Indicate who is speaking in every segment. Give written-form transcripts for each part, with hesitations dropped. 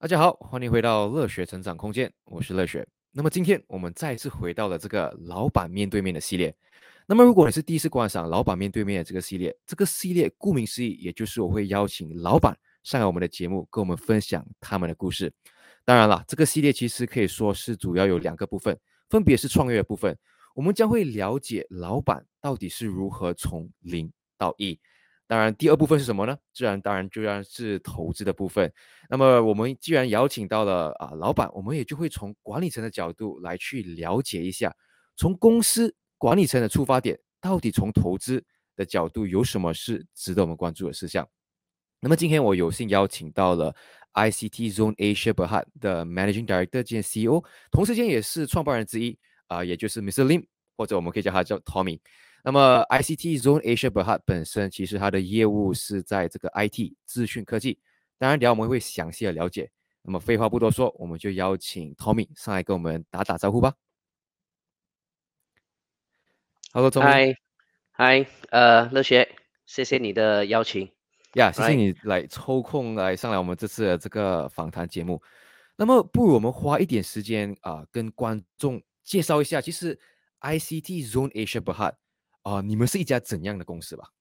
Speaker 1: 大家好，欢迎回到乐学成长空间，我是乐学。那么今天我们再次回到了这个老板面对面的系列。那么如果你是第一次观赏老板面对面的这个系列，这个系列顾名思义，也就是我会邀请老板上来我们的节目，跟我们分享他们的故事。当然了，这个系列其实可以说是主要有两个部分，分别是创业的部分，我们将会了解老板到底是如何从零到一。当然，第二部分是什么呢？当然是投资的部分。那么我们既然邀请到了老板，我们也就会从管理层的角度来去了解一下，从公司管理层的出发点，到底从投资的角度有什么是值得我们关注的事项。那么今天我有幸邀请到了 ICT Zone Asia Berhad 的 Managing Director 兼 CEO，同时间也是创办人之一也就是 Mr. Lim，或者我们可以叫他叫 Tommy。那么 ICT Zone Asia Berhad 本身其实它的业务是在这个 IT 资讯科技，当然等下我们会详细的了解。那么废话不多说，我们就邀请 Tommy 上来跟我们打打招呼吧。Hello Tommy。
Speaker 2: 嗨，乐学，谢谢你的邀请。
Speaker 1: 谢谢
Speaker 2: Right，
Speaker 1: 你来抽空来上来我们这次的这个访谈节目。那么，不如我们花一点时间跟观众介绍一下，其实 ICT Zone Asia Berhad 你们是一家怎样的公司吧？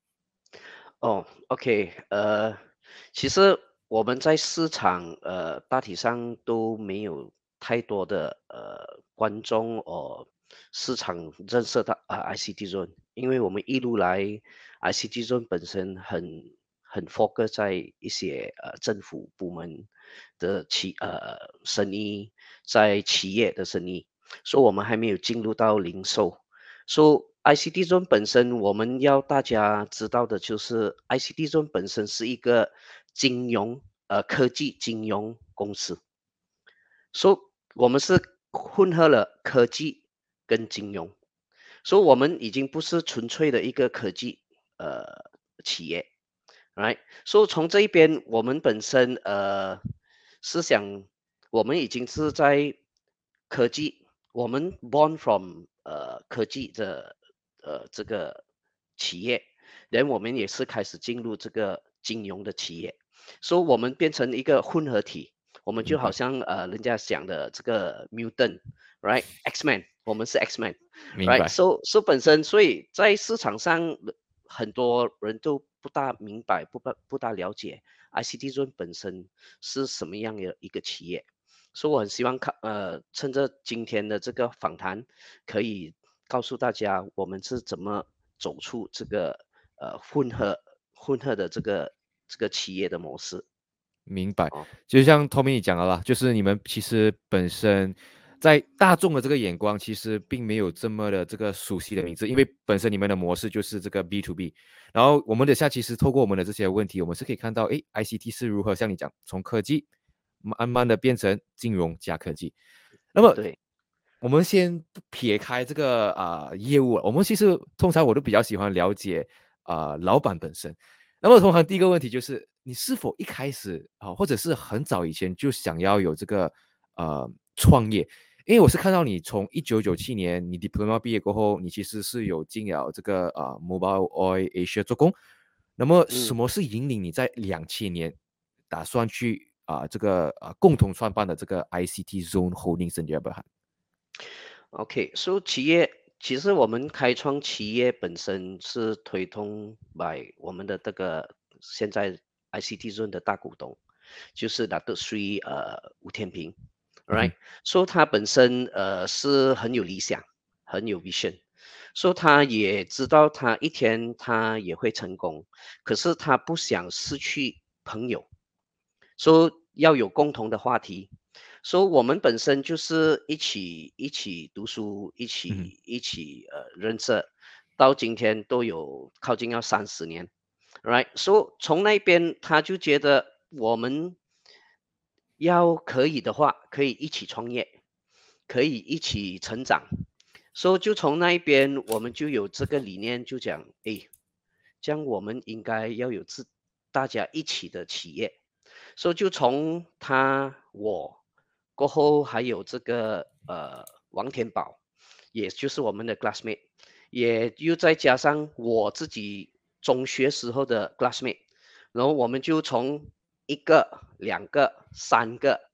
Speaker 2: OK，其实我们在市场大体上都没有太多的观众市场认识到ICT Zone，因为我们一路来 ICT Zone 本身很 focus 在一些政府部门的生意，在企业的生意，所以我们还没有进入到零售。ICT Zone 本身，我们要大家知道的就是，ICT Zone 本身是一个科技金融公司，所以我们是混合了科技跟金融，所以我们已经不是纯粹的一个科技企业，right？所以从这一边，我们本身思想，我们已经是在科技，我们 born from 科技的这个企业，然后我们也是开始进入这个金融的企业，所以我们变成一个混合体。我们就好
Speaker 1: 明白，
Speaker 2: 像人家讲的这个 mutant，right？X-Men，我们是
Speaker 1: 明
Speaker 2: X-Men，right？
Speaker 1: 白。
Speaker 2: So 本身，所以在市场上很多人都不大明白、不大了解 ICT Zone 本身是什么样的一个企业。所以我很希望趁着今天的这个访谈，可以告诉大家我们是怎么走出这个混合的这个企业的模式。
Speaker 1: 明白，
Speaker 2: 哦，
Speaker 1: 就像 Tommy 你讲的啦，就是你们其实本身在大众的这个眼光，其实并没有这么的这个熟悉的名字，因为本身你们的模式就是这个 B to B。然后我们等下其实透过我们的这些问题，我们是可以看到，诶，ICT 是如何像你讲，从科技慢慢的变成金融加科技。那么
Speaker 2: 对。
Speaker 1: 我们先撇开这个业务，我们其实通常我都比较喜欢了解老板本身。那么通常第一个问题就是，你是否一开始或者是很早以前就想要有这个创业？因为我是看到你从1997年你 diploma 毕业过后，你其实是有进了这个Mobile Oil Asia 做工。那么什
Speaker 2: 嗯。
Speaker 1: 么是引领你在2000年打算去这个共同创办的这个 ICT Zone Holdings in Jabberhan？
Speaker 2: OK，企业其实我们开创企业本身是推动 by 我们的这个现在 ICT Zone 的大股东，就是拿督斯吴天平，right？
Speaker 1: 嗯哼。
Speaker 2: 他本身是很有理想，很有 vision，他也知道他一天他也会成功，可是他不想失去朋友，要有共同的话题。我们本身就是一起读书，
Speaker 1: 嗯哼。
Speaker 2: 一起认识，到今天都有靠近要30年，right？从那边他就觉得我们要可以的话，可以一起创业，可以一起成长。就从那一边，我们就有这个理念，就讲，诶，这样我们应该要有大家一起的企业。就从我过后，还有这个王天宝，也就是我们的 classmate，也又再加上我自己中学时候的 classmate，然后我们就从一个、两个、三个。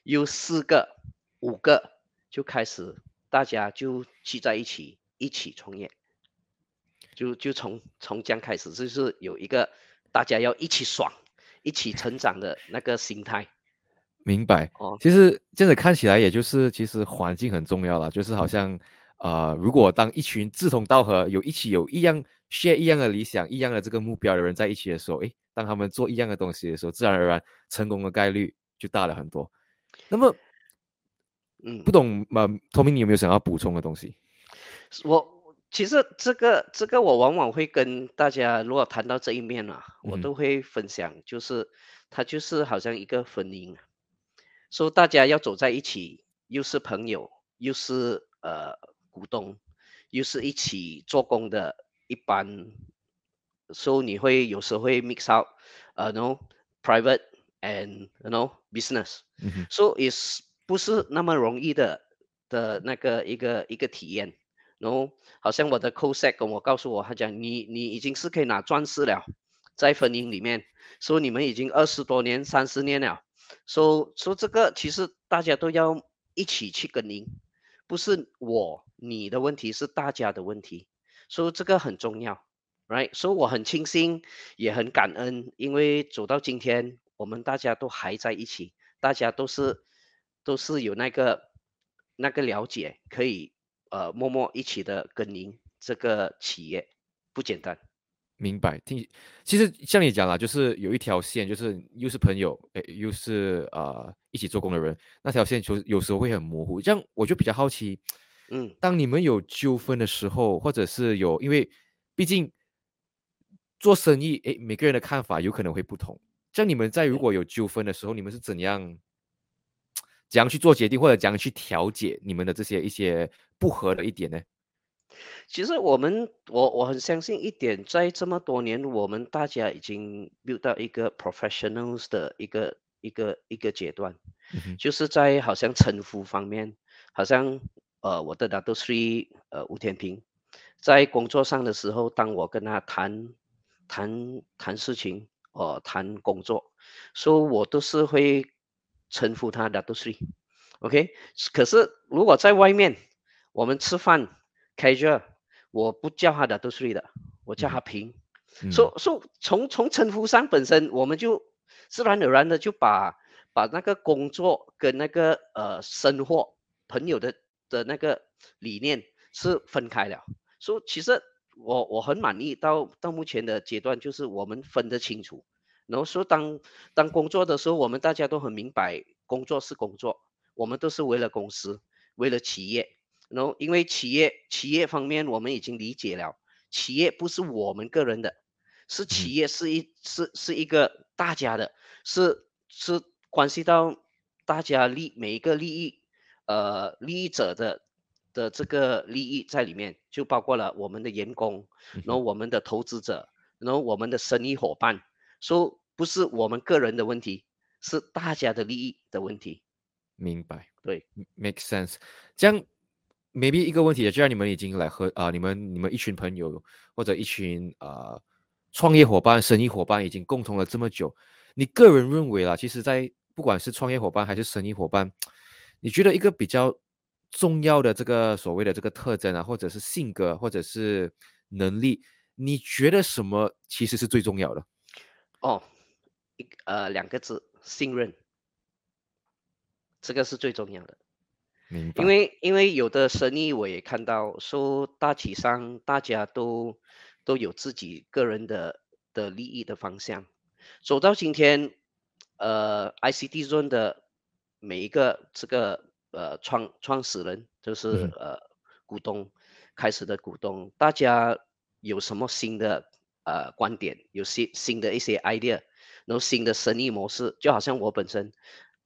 Speaker 2: 又4个、5个就开始大家就聚在一起创业，就从这样开始，就是有一个大家要一起爽、一起成长的那个心态
Speaker 1: 明白。
Speaker 2: 哦。
Speaker 1: 其实这样子看起来，也就是其实环境很重要了，就是好像如果当一群志同道合、有一样 share 一样的理想、一样的这个目标的人在一起的时候，诶，当他们做一样的东西的时候，自然而然成功的概率就大了很多。那么
Speaker 2: 嗯。
Speaker 1: 不懂Tommy，你有没有想要补充的东西？
Speaker 2: 其实这个我往往会跟大家，如果谈到这一面啊，
Speaker 1: 嗯哼。
Speaker 2: 我都会分享，就是它就是好像一个婚姻，说大家要走在一起，又是朋友，又是股东，又是一起做工的一般，所以你会有时候会 mix out，no private and business，
Speaker 1: 嗯哼。
Speaker 2: so is 不是那么容易的那个一个体验。然后好像我的 co-sec 跟我告诉我，他讲你已经是可以拿钻石了，在婚姻里面，说你们已经20多年、30年了，说这个其实大家都要一起去耕耘，不是你的问题，是大家的问题，所以这个很重要，right？所以我很庆幸，也很感恩，因为走到今天，我们大家都还在一起，大家都是有那个了解，可以默默一起的耕耘这个企业，不简单。
Speaker 1: 明白。其实像你讲啦，就是有一条线，就是又是朋友，诶，又是一起做工的人，那条线就有时候会很模糊。这样我就比较好奇，
Speaker 2: 嗯。
Speaker 1: 当你们有纠纷的时候，或者是因为毕竟做生意，诶，每个人的看法有可能会不同。像你们在如
Speaker 2: 对。
Speaker 1: 果有纠纷的时候，你们是怎样去做决定，或者怎样去调解你们的这些一些不合的一点呢？
Speaker 2: 其实我很相信一点，在这么多年，我们大家已经 build 到一个 professionals 的一个阶段，
Speaker 1: 嗯哼。
Speaker 2: 就是在好像称呼方面，好像我的 Dato Sri 吴天平，在工作上的时候，当我跟他谈事情，谈工作，所以我都是会称呼他 Dato Sri，OK，可是如果在外面我们吃饭 casual，我不叫他 Dato Sri 的，我叫他
Speaker 1: 嗯哼。
Speaker 2: 平。
Speaker 1: 嗯。
Speaker 2: 从称呼上本身，我们就自然而然的就把那个工作跟那个生活朋友的那个理念是分开了。所以其实我很满意到目前的阶段，就是我们分得清楚。然后说当工作的时候，我们大家都很明白，工作是工作，我们都是为了公司，为了企业。然后因为企业方面我们已经理解了，企业不是我们个人的，是
Speaker 1: 嗯哼。
Speaker 2: 企业是一个大家的，是关系到大家每一个利益者的这个利益在里面，就包括了我们的员工，
Speaker 1: 嗯哼。
Speaker 2: 然后我们的投资者，然后我们的生意伙伴，说不是我们个人的问题，是大家的利益的问题。
Speaker 1: 明白。
Speaker 2: 对。
Speaker 1: make sense。这样，maybe 一个问题，既然你们已经来和你们一群朋友或者一群创业伙伴、生意伙伴已经共同了这么久，你个人认为啦，其实，在不管是创业伙伴还是生意伙伴，你觉得一个比较重要的这个所谓的这个特征啊，或者是性格，或者是能力，你觉得什么其实是最重要的？
Speaker 2: 哦，2个字，信任，这个是最重要的。因
Speaker 1: 明白。
Speaker 2: 为因为有的生意我也看到，说大体上大家都有自己个人的利益的方向。走到今天，ICT Zone 的每一个这个创始人，就是
Speaker 1: 嗯哼。
Speaker 2: 股东开始的股东，大家有什么新的观点，有新的一些 idea，然后新的生意模式，就好像我本身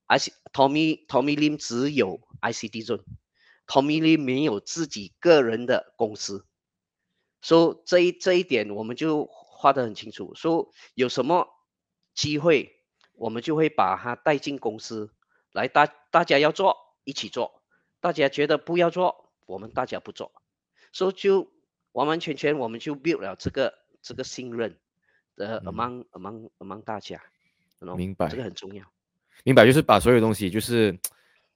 Speaker 2: Tommy Lim 只有 ICT Zone，Tommy Lim 没有自己个人的公司，所以这一点我们就画得很清楚。说有什么机会，我们就会把它带进公司来，大家要做一起做，大家觉得不要做，我们大家不做，所以就完完全全我们就 build 了这个信任的
Speaker 1: 嗯。
Speaker 2: among 大家，这个
Speaker 1: 明白。
Speaker 2: 很重要。
Speaker 1: 明白，就是把所有东西就是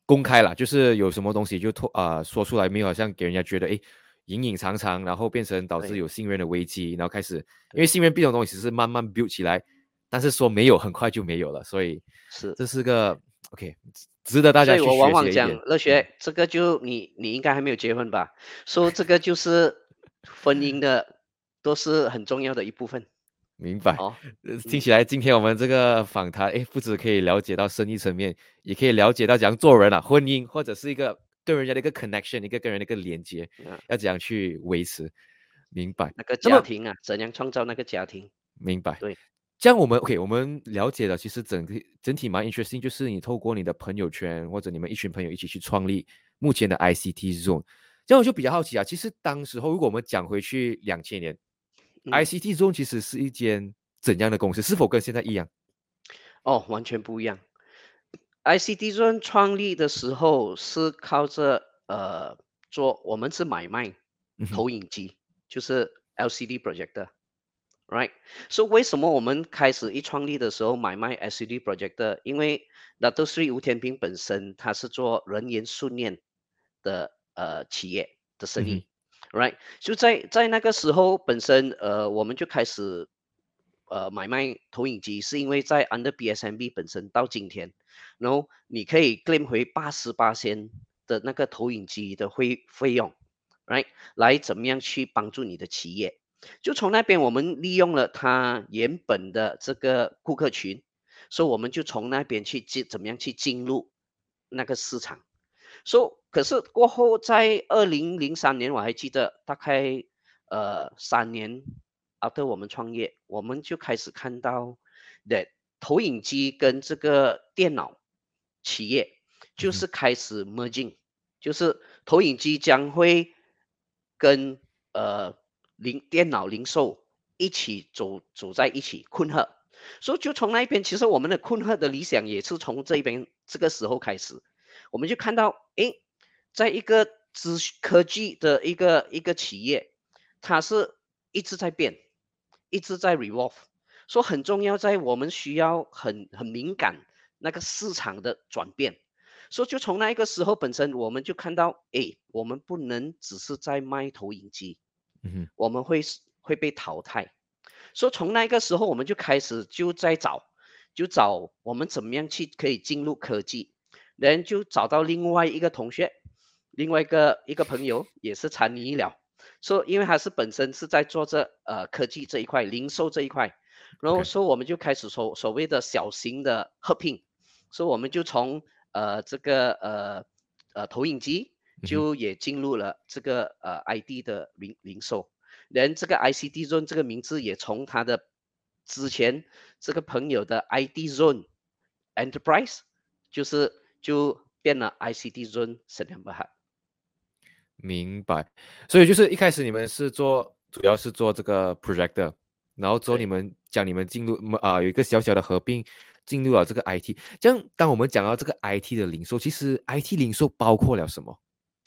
Speaker 1: 公开啦，就是有什么东西就说出来，没有好像给人家觉得隐隐藏藏，然后变成导致
Speaker 2: 对
Speaker 1: 有信任的危机，然后开始因为
Speaker 2: 对
Speaker 1: 信任这种东西是慢慢 build 起来，但是说没有很快就没有了，所以
Speaker 2: 是。
Speaker 1: 这是个 OK 值得大家去
Speaker 2: 所以我往
Speaker 1: 学习的一点。
Speaker 2: 往讲，乐
Speaker 1: 嗯，
Speaker 2: 学这个就你应该还没有结婚吧？说这个就是婚姻的都是很重要的一部分
Speaker 1: 明白。
Speaker 2: 哦。
Speaker 1: 听
Speaker 2: 嗯，
Speaker 1: 起来今天我们这个访谈，不止可以了解到生意层面，也可以了解到怎样做人啊，婚姻或者是一个对人家的一个 connection，一个跟人的一个连接，
Speaker 2: 啊，
Speaker 1: 要怎样去维持。明白。
Speaker 2: 那个
Speaker 1: 那么
Speaker 2: 家庭啊，怎样创造那个家庭？
Speaker 1: 明白。
Speaker 2: 对，
Speaker 1: 这样我们 OK，我们了解了，其实整体蛮 interesting，就是你透过你的朋友圈或者你们一群朋友一起去创立目前的 ICT Zone。这样我就比较好奇啊，其实当时候如果我们讲回去2000年
Speaker 2: 嗯，
Speaker 1: ，ICT Zone 其实是一间怎样的公司？是否跟现在一样？
Speaker 2: 哦，完全不一样。ICT Zone 创立的时候是靠着做，我们是买卖
Speaker 1: 嗯哼。
Speaker 2: 投影机，就是 LCD projector。Right，所以为什么我们开始一创立的时候买卖 LCD projector？因为那都是吴天平本身他是做人员训练的企业的
Speaker 1: 嗯哼。
Speaker 2: 生意，right？就在那个时候本身我们就开始买卖投影机，是因为在 under BSMB 本身到今天，然后你可以 claim 回88仙的那个投影机的费用，right？来怎么样去帮助你的企业？就从那边我们利用了他原本的这个顾客群，所以我们就从那边去怎么样去进入那个市场。可是过后在2003年，我还记得大概3年 after 我们创业，我们就开始看到的投影机跟这个电脑企业
Speaker 1: 嗯哼。
Speaker 2: 就是开始 merging，就是投影机将会跟电脑零售一起走在一起困合。所以就从那一边，其实我们的困惑的理想也是从这边这个时候开始，我们就看到，诶，在一个科技的一个企业，它是一直在变，一直在 revolve，所以很重要，在我们需要很敏感那个市场的转变。所以就从那一个时候本身，我们就看到，诶，我们不能只是在卖投影机，
Speaker 1: 嗯哼。
Speaker 2: 我们会被淘汰。所以从那个时候我们就开始在找我们怎么样去可以进入科技，然后就找到另外一个同学，另外一个朋友也是参与医疗，说因为他是本身是在做这科技这一块，零售这一块，然后
Speaker 1: OK。
Speaker 2: 说我们就开始所谓的小型的合并，所以我们就从这个投影机
Speaker 1: 嗯哼。
Speaker 2: 就也进入了这个ID 的零售。连这个 ICT Zone 这个名字也从他的之前这个朋友的 ID Zone Enterprise，就变了 ICT Zone Sdn Bhd。
Speaker 1: 明白。所以就是一开始你们是主要是做这个 projector，然后之后你
Speaker 2: 对
Speaker 1: 们讲你们进入有一个小小的合并，进入了这个 IT。这样，当我们讲到这个 IT 的零售，其实 IT 零售包括了什么？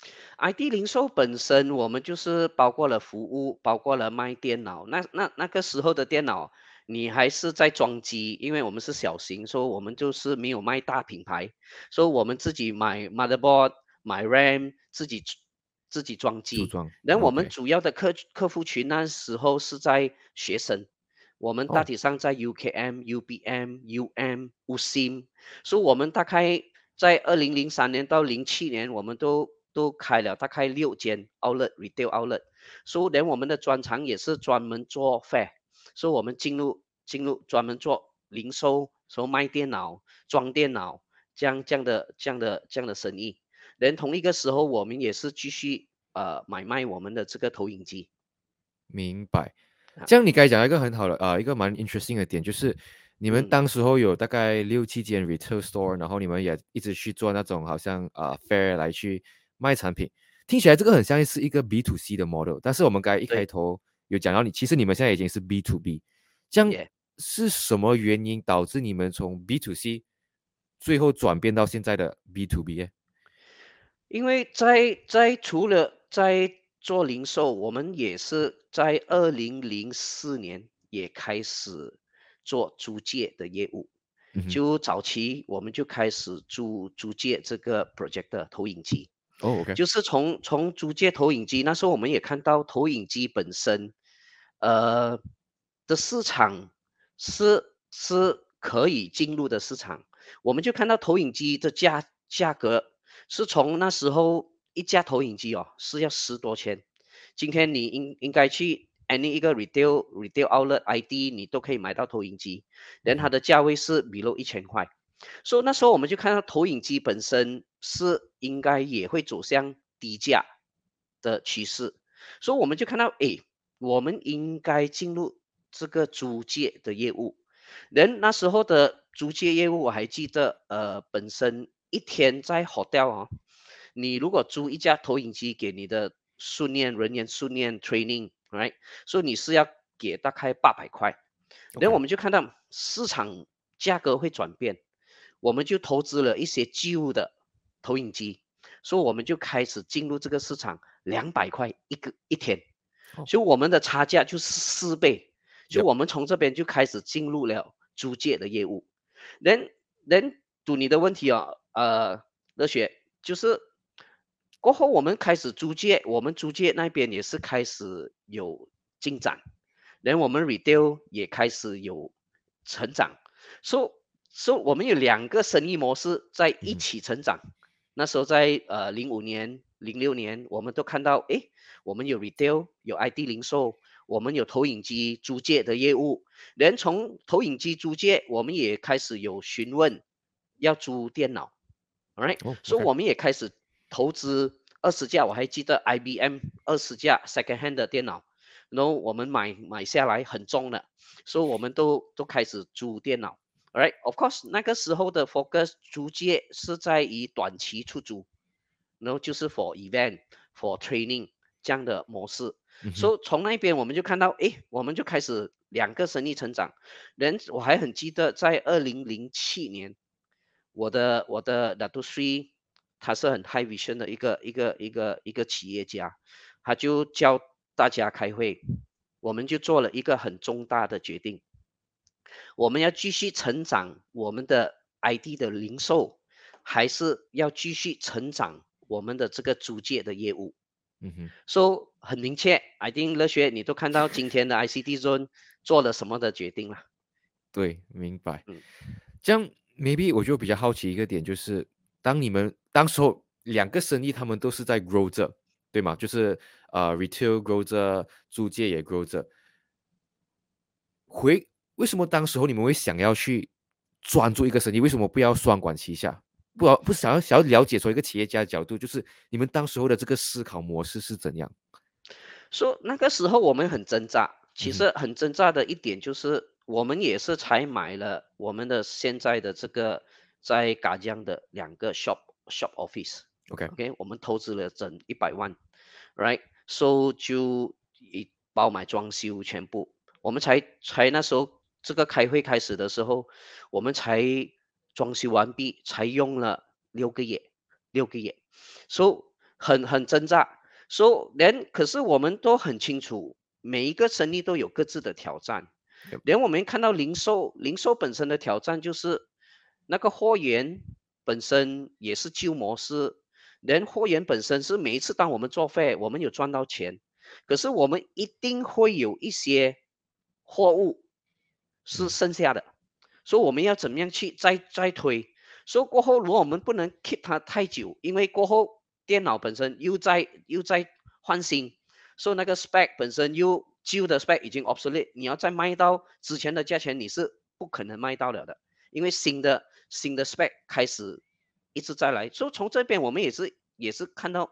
Speaker 2: ，ID 零售本身我们就是包括了服务，包括了卖电脑。那个时候的电脑，你还是在装机，因为我们是小型，所以我们就是没有卖大品牌，所以我们自己买 motherboard、买 RAM，自己装机。
Speaker 1: 组装
Speaker 2: 然后我们
Speaker 1: ？OK。
Speaker 2: 主要的客户群那时候是在学生，我们大
Speaker 1: 哦。
Speaker 2: 体上在 UKM、UBM、UM、USIM，所以我们大概在2003年到07年，我们都开了大概6间 outlet retail outlet，所以连我们的专长也是专门做 fair，所以我们进入专门做零售，说卖电脑、装电脑这样的生意。连同一个时候，我们也是继续买卖我们的这个投影机
Speaker 1: 明白。
Speaker 2: 啊，
Speaker 1: 这样你刚才讲一个很好的一个蛮 interesting 的点，就是你们
Speaker 2: 嗯，
Speaker 1: 当时候有大概6、7间 retail store，然后你们也一直去做那种好像fair 来去卖产品，听起来这个很像是一个 B to C 的 model。但是我们刚才一开
Speaker 2: 对，
Speaker 1: 头有讲到其实你们现在已经是 B to B，这样
Speaker 2: 也、
Speaker 1: 是什么原因导致你们从 B to C 最后转变到现在的 B to B 呢？
Speaker 2: 因为除了在做零售，我们也是在2004年也开始做租借的业务。 就早期我们就开始租借这个 projector 投影机。
Speaker 1: 哦，OK，
Speaker 2: 就是从租借投影机，那时候我们也看到投影机本身，呃的市场是可以进入的市场。我们就看到投影机的价格是从那时候一架投影机是要10多千，今天你应该去 any 一个 retail outlet ID 你都可以买到投影机，然后它的价位是 below 1000块。所以那时候我们就看到投影机本身是应该也会走向低价的趋势，所以我们就看到，诶，我们应该进入这个租借的业务。人那时候的租借业务，我还记得，本身一天在 hotel 你如果租一架投影机给你的人员训练 training，right，所以你是要给大概800块。然后我们就看到市场价格会转变，我们就投资了一些旧的投影机，所以我们就开始进入这个市场，200块一天，
Speaker 1: 哦
Speaker 2: 所以我们的差价就是4倍，所以
Speaker 1: ，Yep，
Speaker 2: 我们从这边就开始进入了租借的业务。人读你的问题热血就是过后我们开始租借，我们租借那边也是开始有进展，然后我们 retail 也开始有成长，所以我们有2个生意模式在一起成长。那时候在05年、06年，我们都看到，诶，我们有 retail，有 ID 零售，我们有投影机租借的业务。连从投影机租借，我们也开始有询问要租电脑，alright，
Speaker 1: 哦
Speaker 2: 所以
Speaker 1: ，OK，
Speaker 2: 我们也开始投资20架，我还记得 IBM 20架 second hand 的电脑，然后我们买下来很重的，所以我们都开始租电脑。Alright, of course，那个时候的 focus 租借是在于短期出租，然后就是 for event、for training 这样的模式。所以从那边我们就看到，诶，我们就开始2个生意成长。我还很记得，在2007年，我的 Dato Sri 他是很 high vision 的一个企业家，他就教大家开会，我们就做了一个很重大的决定。我们要继续成长我们的 ID 的零售，还是要继续成长我们的这个租借的业务？So 很明确，I think 乐学你都看到今天的 ICT Zone 做了什么的决定了。
Speaker 1: 对，明白。
Speaker 2: 嗯，
Speaker 1: 这样 maybe 我就比较好奇一个点，就是当你们当时候2个生意，他们都是在 grow 着，对吗？就是retail grow 着，租借也 grow 着。为什么当时候你们会想要去专注一个生意？为什么不要双管齐下？不想要了解从一个企业家的角度，就是你们当时候的这个思考模式是怎样？
Speaker 2: 说那个时候我们很挣扎，其
Speaker 1: 嗯哼
Speaker 2: 实很挣扎的一点就是，我们也是才买了我们的现在的这个在嘎江的2个 shop office。
Speaker 1: ，OK，
Speaker 2: OK，我们投资了整100万，right？So 就包买装修全部，我们才那时候这个开会开始的时候，我们才装修完毕，才用了6个月，so 很挣扎。可是我们都很清楚，每一个生意都有各自的挑战。
Speaker 1: Yep，
Speaker 2: 连我们看到零售本身的挑战就是那个货源本身也是旧模式，连货源本身是每一次当我们做费，我们有赚到钱，可是我们一定会有一些货物是
Speaker 1: 嗯
Speaker 2: 剩下的，所以我们要怎么样去再推？所以过后，如果我们不能 keep 它太久，因为过后电脑本身又在换新，所以那个 spec 本身又旧的 spec 已经 obsolete，你要再卖到之前的价钱，你是不可能卖到了的，因为新的 spec 开始一直在来，所以从这边我们也是看到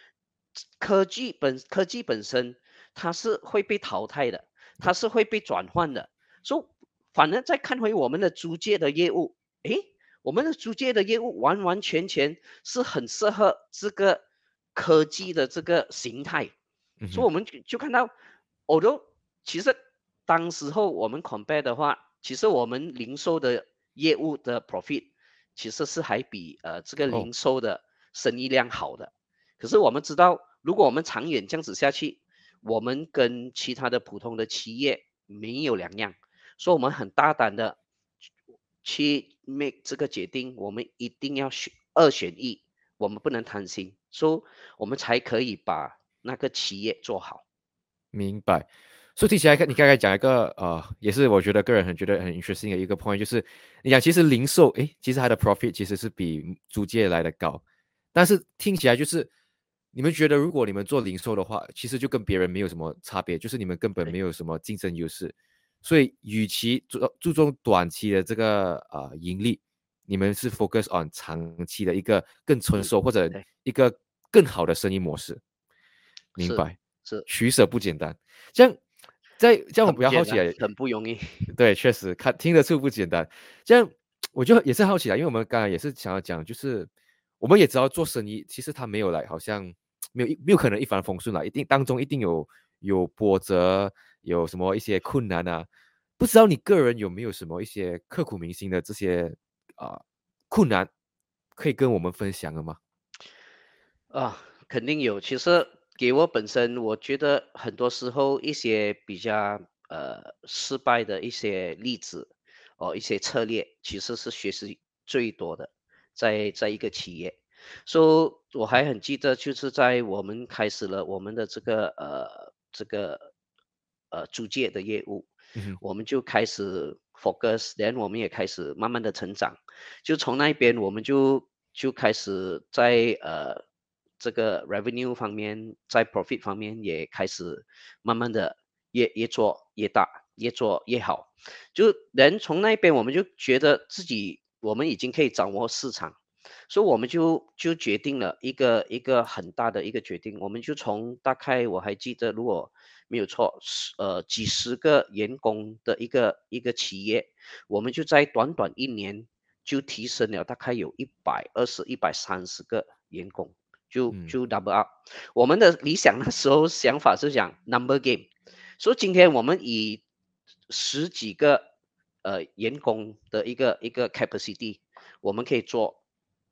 Speaker 2: 科技本身它是会被淘汰的，它是会被转换的，所以反而再看回我们的租借的业务，诶，我们的租借的业务完完全全是很适合这个科技的这个形态，
Speaker 1: 嗯哼
Speaker 2: 所以我们就看到，其实当时候我们 compare 的话，其实我们零售的业务的 profit 其实是还比这个
Speaker 1: 哦
Speaker 2: 零售的生意量好的。可是我们知道，如果我们长远这样子下去，我们跟其他的普通的企业没有两样，所以我们很大胆的去 make 这个决定，我们一定要二选一，我们不能贪心，所以我们才可以把那个企业做好。
Speaker 1: 明白。所以听起来，你刚才讲一个也是我觉得个人觉得很 interesting 的一个 point，就是你讲其实零售，诶，其实它的 profit 其实是比租借来的高，但是听起来就是你们觉得如果你们做零售的话，其实就跟别人没有什么差别，就是你们根本没
Speaker 2: 对，
Speaker 1: 有什么竞争优势，所以与其注重短期的这个盈利，你们是 focus on 长期的一个更成
Speaker 2: 嗯，
Speaker 1: 熟或者
Speaker 2: 对，
Speaker 1: 一个更好的生意模式。明
Speaker 2: 是
Speaker 1: 白，
Speaker 2: 是，
Speaker 1: 取舍不简单。这样我
Speaker 2: 很不简单，
Speaker 1: 比较好奇啊，
Speaker 2: 很不容易。
Speaker 1: 对，确实听得出不简单。这样我就也是好奇啊，因为我们刚才也是想要讲，就是我们也知道做生意，其实它没有来，好像没有可能一帆风顺啦，一定当中一定有波折，有什么一些困难啊。不知道你个人有没有什么一些刻骨铭心的这些困难，可以跟我们分享的吗？
Speaker 2: 啊，肯定有。其实给我本身，我觉得很多时候一些比较失败的一些例子，一些策略，其实是学习最多的，在一个企业。所以我还很记得，就是在我们开始了我们的这个租借的业务，
Speaker 1: 嗯哼。
Speaker 2: 我们就开始 focus，然后我们也开始慢慢的成长。就从那边我们就开始在这个 revenue 方面，在 profit 方面也开始慢慢的越做越大，越做越好。就人从那边我们就觉得自己我们已经可以掌握市场，所以我们就决定了一个很大的一个决定，我们就从大概我还记得，如果没有错，几十个员工的一个企业，我们就在短短一年就提升了大概有120、130个员工，就
Speaker 1: 嗯。
Speaker 2: 就 double up。我们的理想那时候想法是讲 number game，所以今天我们以十几个员工的一个 capacity，我们可以做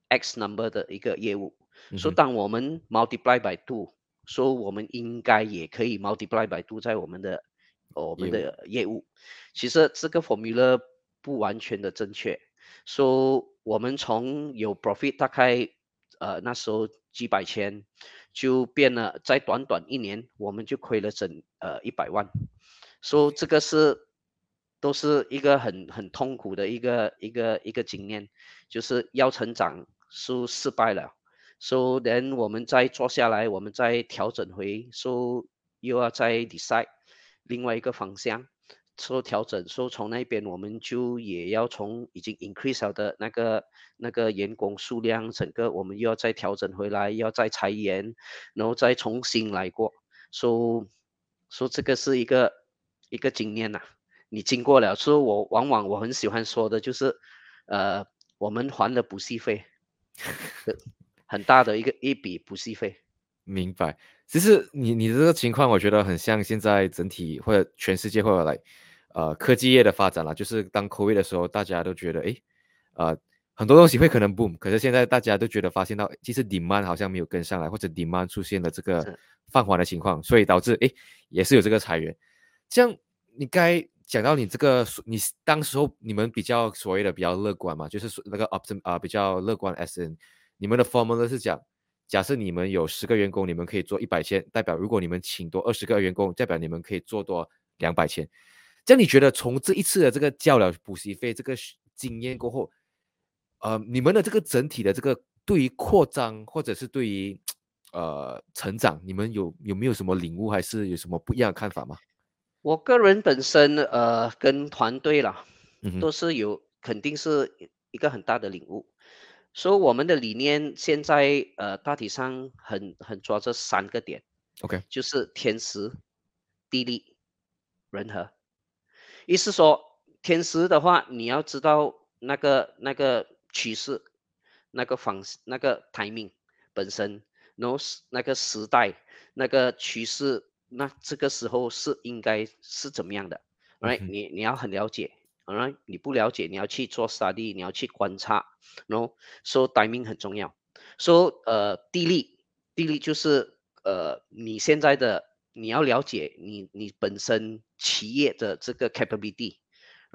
Speaker 2: X number 的一个业务。所以
Speaker 1: 嗯哼。
Speaker 2: 当我们 multiply by two，说我们应该也可以 multiply by two 在我们
Speaker 1: 业务。
Speaker 2: 的业务。其实这个 formula 不完全的正确，说我们从有 profit 大概那时候几百千，就变了，在短短一年我们就亏了整100万，说这个都是一个很痛苦的一个经验，就是要成长失败了。So then 我们再坐下来，我们再调整回，so 又要再 decide 另外一个方向，说调整，说从那边我们就也要从已经 increase 了的那个员工数量，整个我们又要再调整回来，要再裁员，然后再重新来过。说这个是一个经验呐、你经过了，所以往往很喜欢说的就是，呃，我们还了补习费，很大的一笔补习费。
Speaker 1: 明白。其实你的这个情况，我觉得很像现在整体或者全世界或者来科技业的发展啦。就是当 COVID 的时候，大家都觉得诶，很多东西会可能 boom，可是现在大家都觉得发现到，其实 demand 好像没有跟上来，或者 demand 出现了这个
Speaker 2: 是
Speaker 1: 放缓的情况，所以导致诶也是有这个裁员。这样你该讲到你这个，你当时候你们比较所谓的比较乐观嘛，就是说那个 比较乐观，as in 你们的 formula 是讲，假设你们有10个员工，你们可以做100千，代表如果你们请多20个员工，代表你们可以做多200千。这样你觉得从这一次的这个交了补习费这个经验过后，你们的这个整体的这个对于扩张或者是对于成长，你们有没有什么领悟，还是有什么不一样的看法吗？
Speaker 2: 我个人本身跟团队啦，
Speaker 1: 嗯哼。
Speaker 2: 都是肯定是一个很大的领悟。所以我们的理念现在大体上很抓这3个点，
Speaker 1: OK。
Speaker 2: 就是天时、地利、人和。意思说，天时的话，你要知道那个趋势，那个 timing 本身，然后那个时代，那个趋势，那这个时候是应该是怎么样的？Right，
Speaker 1: 嗯哼。
Speaker 2: 你要很了解，Alright，你不了解，你要去做 study，你要去观察，然后说 timing 很重要。说地利就是你现在的你要了解你本身企业的这个 capability，right？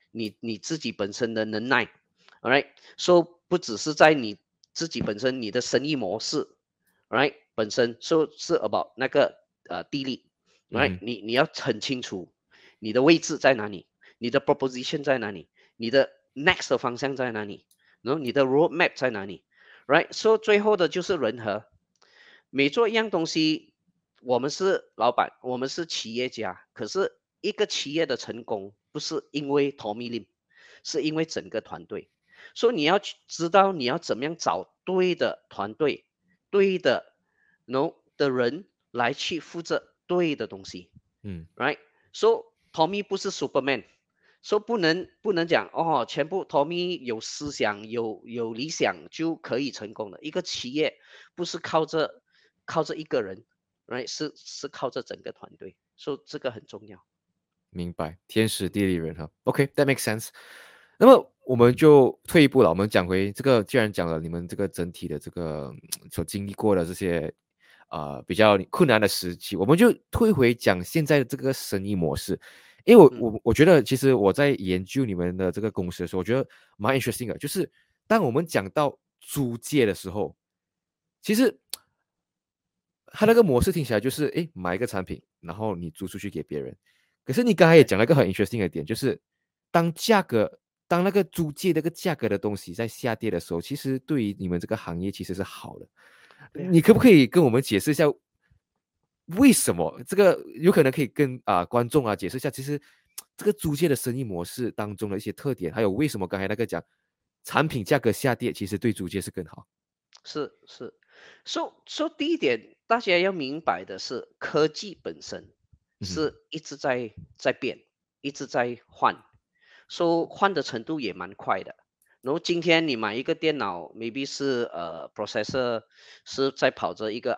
Speaker 2: 你自己本身的能耐 ，all right，so 不只是在你自己本身你的生意模式 ，all right，本身 so 是 about 那个地利，all
Speaker 1: 嗯
Speaker 2: right，
Speaker 1: 哼，
Speaker 2: 你要很清楚你的位置在哪里，你的 proposition 在哪里，你的 next 的方向在哪里，然后你的 roadmap 在哪里，right，so 最后的就是人和。每做一样东西，我们是老板，我们是企业家，可是一个企业的成功不是因为 Tommy Lim，是因为整个团队。所以你要去知道你要怎么样找对的团队、对的 的人来去负责对的东西
Speaker 1: 嗯
Speaker 2: ，right？So Tommy 不是 Superman，说不能讲哦，全部 Tommy 有思想有理想就可以成功的。一个企业不是靠着一个人，right？是靠着整个团队，所以这个很重要。
Speaker 1: 明白，天时地利人和。OK，that makes sense。那么我们就退一步了，我们讲回这个，既然讲了你们这个整体的这个所经历过的这些比较困难的时期，我们就退回讲现在的这个生意模式。因为我觉得，其实我在研究你们的这个公司的时候，我觉得蛮 interesting 的，就是当我们讲到租借的时候，其实它那个模式听起来就是，诶，买一个产品，然后你租出去给别人。可是你刚才也
Speaker 2: 对，
Speaker 1: 讲了一个很 interesting 的点，就是当价格，当那个租借那个价格的东西在下跌的时候，其实对于你们这个行业其实是好的。
Speaker 2: 对啊，
Speaker 1: 你可不可以跟我们解释一下，为什么这个有可能可以跟观众解释一下，其实这个租借的生意模式当中的一些特点，还有为什么刚才那个讲产品价格下跌，其实对租借是更好？
Speaker 2: 是。说第一点，大家要明白的是，科技本身
Speaker 1: 嗯哼，
Speaker 2: 是一直在变，一直在换，换的程度也蛮快的。然后今天你买一个电脑，maybe 是processor 是在跑着一个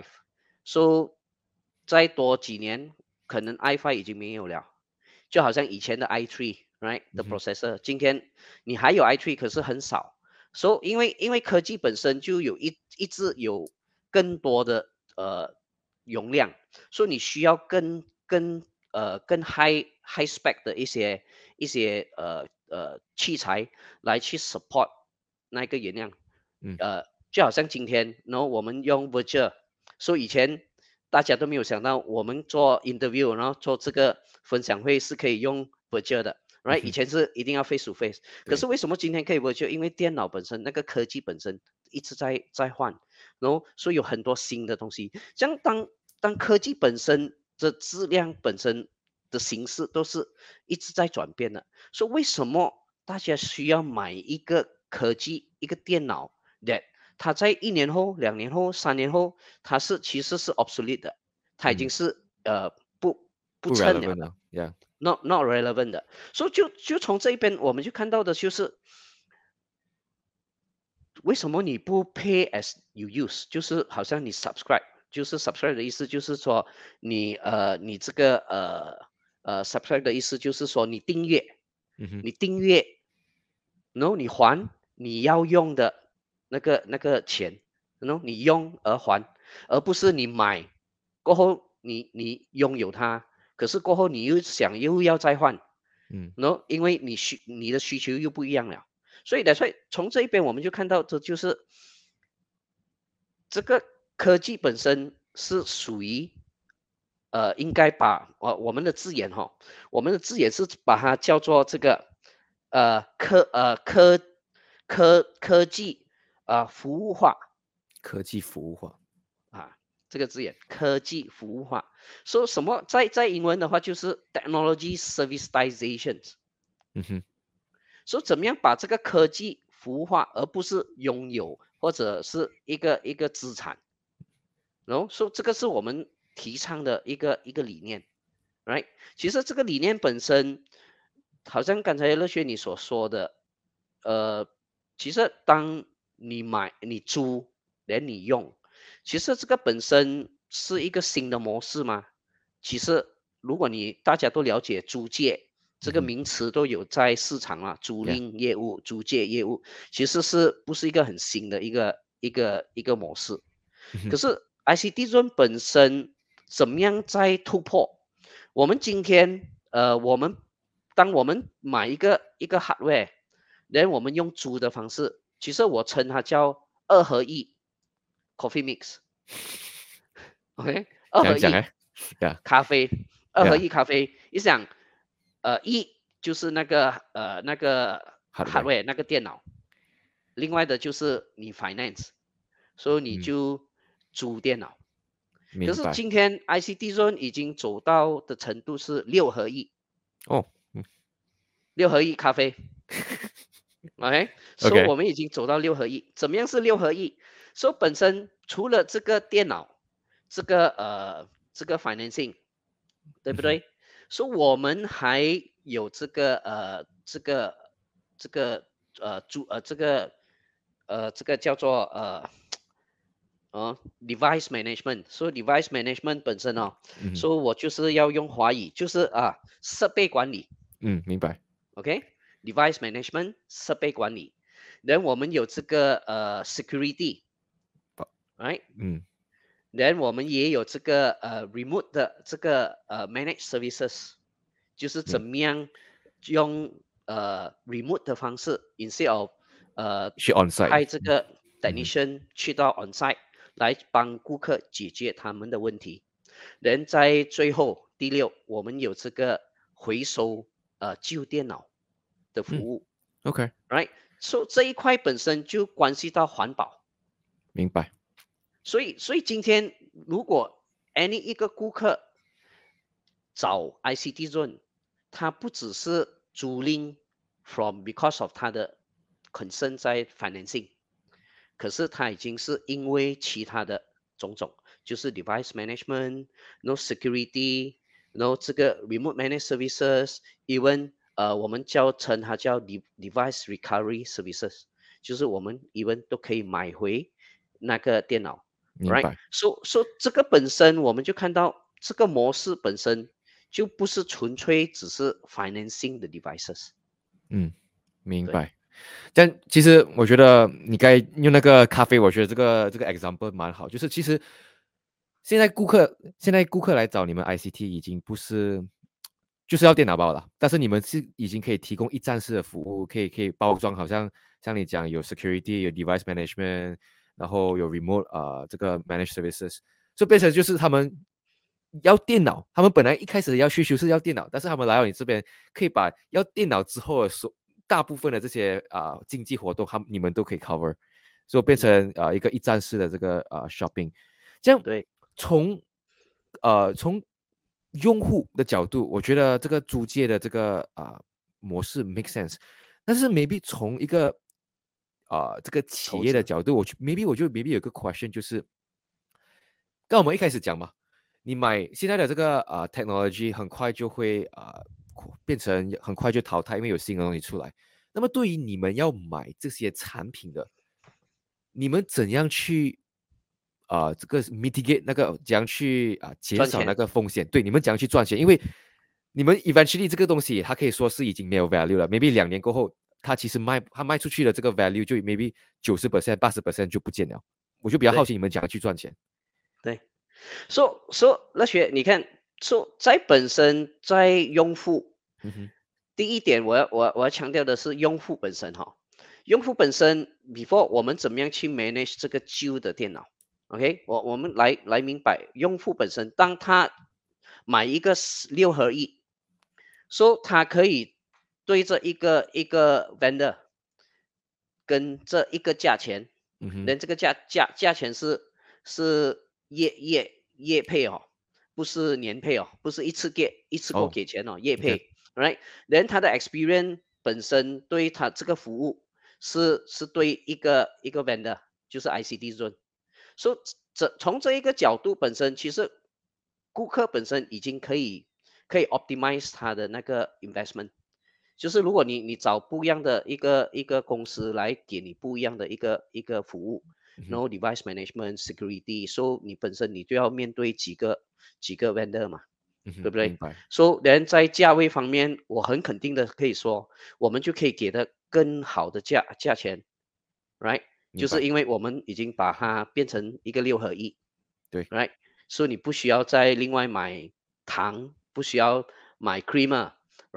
Speaker 2: i5，再多几年可能 i5 已经没有了，就好像以前的 i3，right 的
Speaker 1: 嗯哼，
Speaker 2: processor，今天你还有 i3，可是很少。因为科技本身就一直有更多的容量，所以你需要更 high spec 的一些器材来去 support 那个原量，
Speaker 1: 嗯
Speaker 2: 就好像今天，然后我们用 virtual，所以以前大家都没有想到我们做 interview，然后做这个分享会是可以用 virtual 的，right？以
Speaker 1: 嗯哼，
Speaker 2: 前是一定要 face to face，可是
Speaker 1: 对，
Speaker 2: 为什么今天可以 virtual？因为电脑本身那个科技本身一直在换，然后所以有很多新的东西。像当科技本身的质量本身的形式都是一直在转变的，所以为什么大家需要买一个科技一个电脑？that 它在1年后、2年后、3年后，它其实是 obsolete 的，它已经
Speaker 1: 嗯，
Speaker 2: 是不
Speaker 1: 不
Speaker 2: 称了
Speaker 1: relevant
Speaker 2: 的
Speaker 1: 了，yeah，
Speaker 2: ，not relevant 的。所以就从这一边我们就看到的就是，为什么你不 pay as you use，就是好像你 subscribe，就是 subscribe 的意思就是说你这个subscribe 的意思就是说你订阅，
Speaker 1: 嗯哼，
Speaker 2: 你订阅，然后你还你要用的那个钱，然后你用而还，而不是你买过后你拥有它，可是过后你又要再换，
Speaker 1: 嗯
Speaker 2: 然后因为你的需求又不一样了，所以从这一边我们就看到这就是这个科技本身是属于应该把我们的字眼哈，我们的字眼是把它叫做这个呃科呃科科技服务化
Speaker 1: 科技服务化，
Speaker 2: 啊，这个字眼科技服务化，说什么在英文的话就是 technology servitization，
Speaker 1: 嗯哼，
Speaker 2: 说怎么样把这个科技服务化，而不是拥有或者是一个资产。然后说这个是我们提倡的一个理念，right？其实这个理念本身，好像刚才乐学你所说的，呃，其实当你买、你租，连你用，其实这个本身是一个新的模式吗？其实如果大家都了解租借这个
Speaker 1: 嗯哼
Speaker 2: 名词都有在市场啊，租
Speaker 1: ，yeah，
Speaker 2: 赁业务、租借业务，其实是不是一个很新的一个模式？
Speaker 1: 嗯哼，
Speaker 2: 可是 ICT Zone 本身怎么样在突破？我们今天我们当我们买一个hardware，然后我们用租的方式，其实我称它叫2合一 coffee mix，OK，二合一
Speaker 1: 讲讲哎，Yeah
Speaker 2: 咖啡，二合
Speaker 1: Yeah
Speaker 2: 一咖啡，你想，一就是那个
Speaker 1: hardware，
Speaker 2: hardware 那个电脑，另外的就是你 finance，所以你
Speaker 1: 嗯，
Speaker 2: 就租电脑。可是
Speaker 1: 明白。
Speaker 2: 今天 ICT Zone 已经走到的程度是六合一，
Speaker 1: 哦，
Speaker 2: 六合一咖啡，OK，所以
Speaker 1: OK，
Speaker 2: 我们已经走到六合一。怎么样是六合一？所以本身除了这个电脑，这个 financing，对不
Speaker 1: 嗯哼，
Speaker 2: 对？所以我们还有这个主这个叫做device management，所以 device management 本身哦，
Speaker 1: 嗯哼，
Speaker 2: 所以我就是要用华语，就是设备管理
Speaker 1: 嗯，明白。
Speaker 2: ，OK，device management 设备管理，然后我们有这个
Speaker 1: 好，
Speaker 2: security，right，
Speaker 1: 嗯
Speaker 2: 然后我们也有这个remote 的这个managed services，就是怎
Speaker 1: 明，
Speaker 2: 么样用remote 的方式，instead of
Speaker 1: 去 on site，
Speaker 2: 派这个
Speaker 1: 嗯哼，
Speaker 2: technician 去到 on site 来帮顾客解决他们的问题。人在最后第六，我们有这个回收旧电脑的服
Speaker 1: 嗯
Speaker 2: 务
Speaker 1: ，OK，
Speaker 2: ，right？So 这一块本身就关系到环保，
Speaker 1: 明白。
Speaker 2: 所以今天如果 any 一个顾客找 ICT Zone，他不只是租赁 from because of 他的 concern 在 financing，可是他已经是因为其他的种种，就是 device management，no security，no 这个 remote managed services，even 我们称它叫 device recovery services，就是我们 even 都可以买回那个电脑，right？
Speaker 1: 明白。
Speaker 2: So 这个本身我们就看到这个模式本身就不是纯粹只是 financing 的 devices，
Speaker 1: 嗯，明
Speaker 2: 对，
Speaker 1: 白。但其实我觉得你该用那个咖啡，我觉得这个 example 蛮好。就是其实现在顾客来找你们 ICT 已经不是就是要电脑包了，但是你们是已经可以提供一站式的服务，可以包装，好像你讲有 security 有 device management，然后有 remote 这个 managed services，所以变成就是他们要电脑，他们本来一开始要需求是要电脑，但是他们来到你这边，可以把要电脑之后的大部分的这些经济活动，你们都可以 cover，所以变
Speaker 2: 嗯，
Speaker 1: 成一个一站式的这个shopping。这样
Speaker 2: 对，
Speaker 1: 从用户的角度，我觉得这个租借的这个模式 make sense，但是 maybe 从一个这个企
Speaker 2: 投资，
Speaker 1: 业的角度，我就 maybe 有个 question 就是，刚我们一开始讲嘛，你买现在的这个technology 很快就会变成很快就淘汰，因为有新的东西出来。那么对于你们要买这些产品的，你们怎样去这个 mitigate 那个怎样去减少那
Speaker 2: 赚钱，
Speaker 1: 个风险？对，你们怎样去赚钱？因为你们 eventually 这个东西，它可以说是已经没有 value 了。maybe 2年过后，它其实它卖出去的这个 value 就 maybe 90% 80% 就不见了。我就比较好
Speaker 2: 对
Speaker 1: 奇你们怎样去赚钱。
Speaker 2: 对。那学你看，在本身在用户，
Speaker 1: 嗯哼，
Speaker 2: 第一点我要强调的是用户本身哈，用户本身 before 我们怎么样去 manage 这个旧的电脑，OK，我们来明白用户本身，当他买一个六合一，说他可以对着一个 vendor 跟这一个价钱，
Speaker 1: 嗯哼，
Speaker 2: 连这个价钱是月配哦，不是年配哦，不是一次过
Speaker 1: 哦
Speaker 2: 给钱哦，月
Speaker 1: ，OK，
Speaker 2: 配，right？人他的 experience 本身对他这个服务是对一个 vendor，就是 ICT Zone，所以从这一个角度本身，其实顾客本身已经可以 optimize 他的那个 investment。就是如果你找不一样的一个公司来给你不一样的一个服务，
Speaker 1: 嗯哼，
Speaker 2: 然后 device management security，so 你本身你就要面对几个 vendor 嘛，
Speaker 1: 嗯哼，
Speaker 2: 对不对
Speaker 1: 明白，
Speaker 2: ？So 人在价位方面，我很肯定的可以说，我们就可以给的更好的价钱，right？
Speaker 1: 明白，
Speaker 2: 就是因为我们已经把它变成一个六合一
Speaker 1: 对，
Speaker 2: ，right？所以你不需要再另外买糖，不需要买 creamer。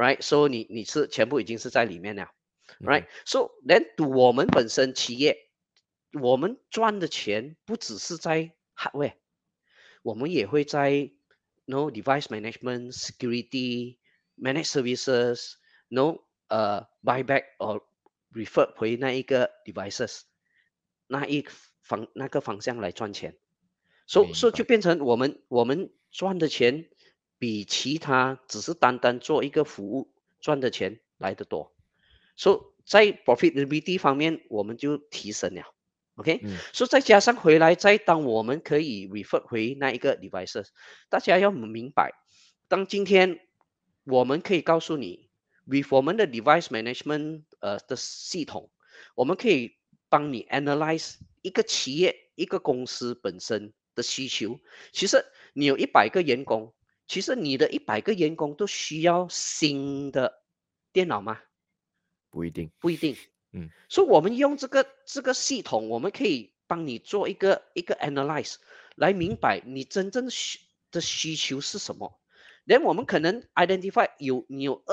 Speaker 2: ，right？So 你是全部已经是在里面了
Speaker 1: 嗯
Speaker 2: ，right？So then to 我们本身企业，我们赚的钱不只是在 hardware，我们也会在 no device management、security、managed services、no buyback or refer 回那一个 devices 那个方向来赚钱。
Speaker 1: 明
Speaker 2: 就
Speaker 1: 白，
Speaker 2: 变成我们赚的钱比其他只是单单做一个服务赚的钱来得多。在 profitability 方面我们就提升了。OK，
Speaker 1: 嗯
Speaker 2: 再加上回来，再当我们可以 refer 回那一个 devices，大家要明白，当今天我们可以告诉你，with 我们的 device management 的系统，我们可以帮你 analyze 一个企业、一个公司本身的需求。其实你有100个员工，其实你的100个员工都需要新的电脑吗？
Speaker 1: 不一定，
Speaker 2: 不一定。
Speaker 1: 嗯
Speaker 2: 我们用这个系统，我们可以帮你做一个 analyze，来明白你真正的需求是什么。连我们可能 identify 你有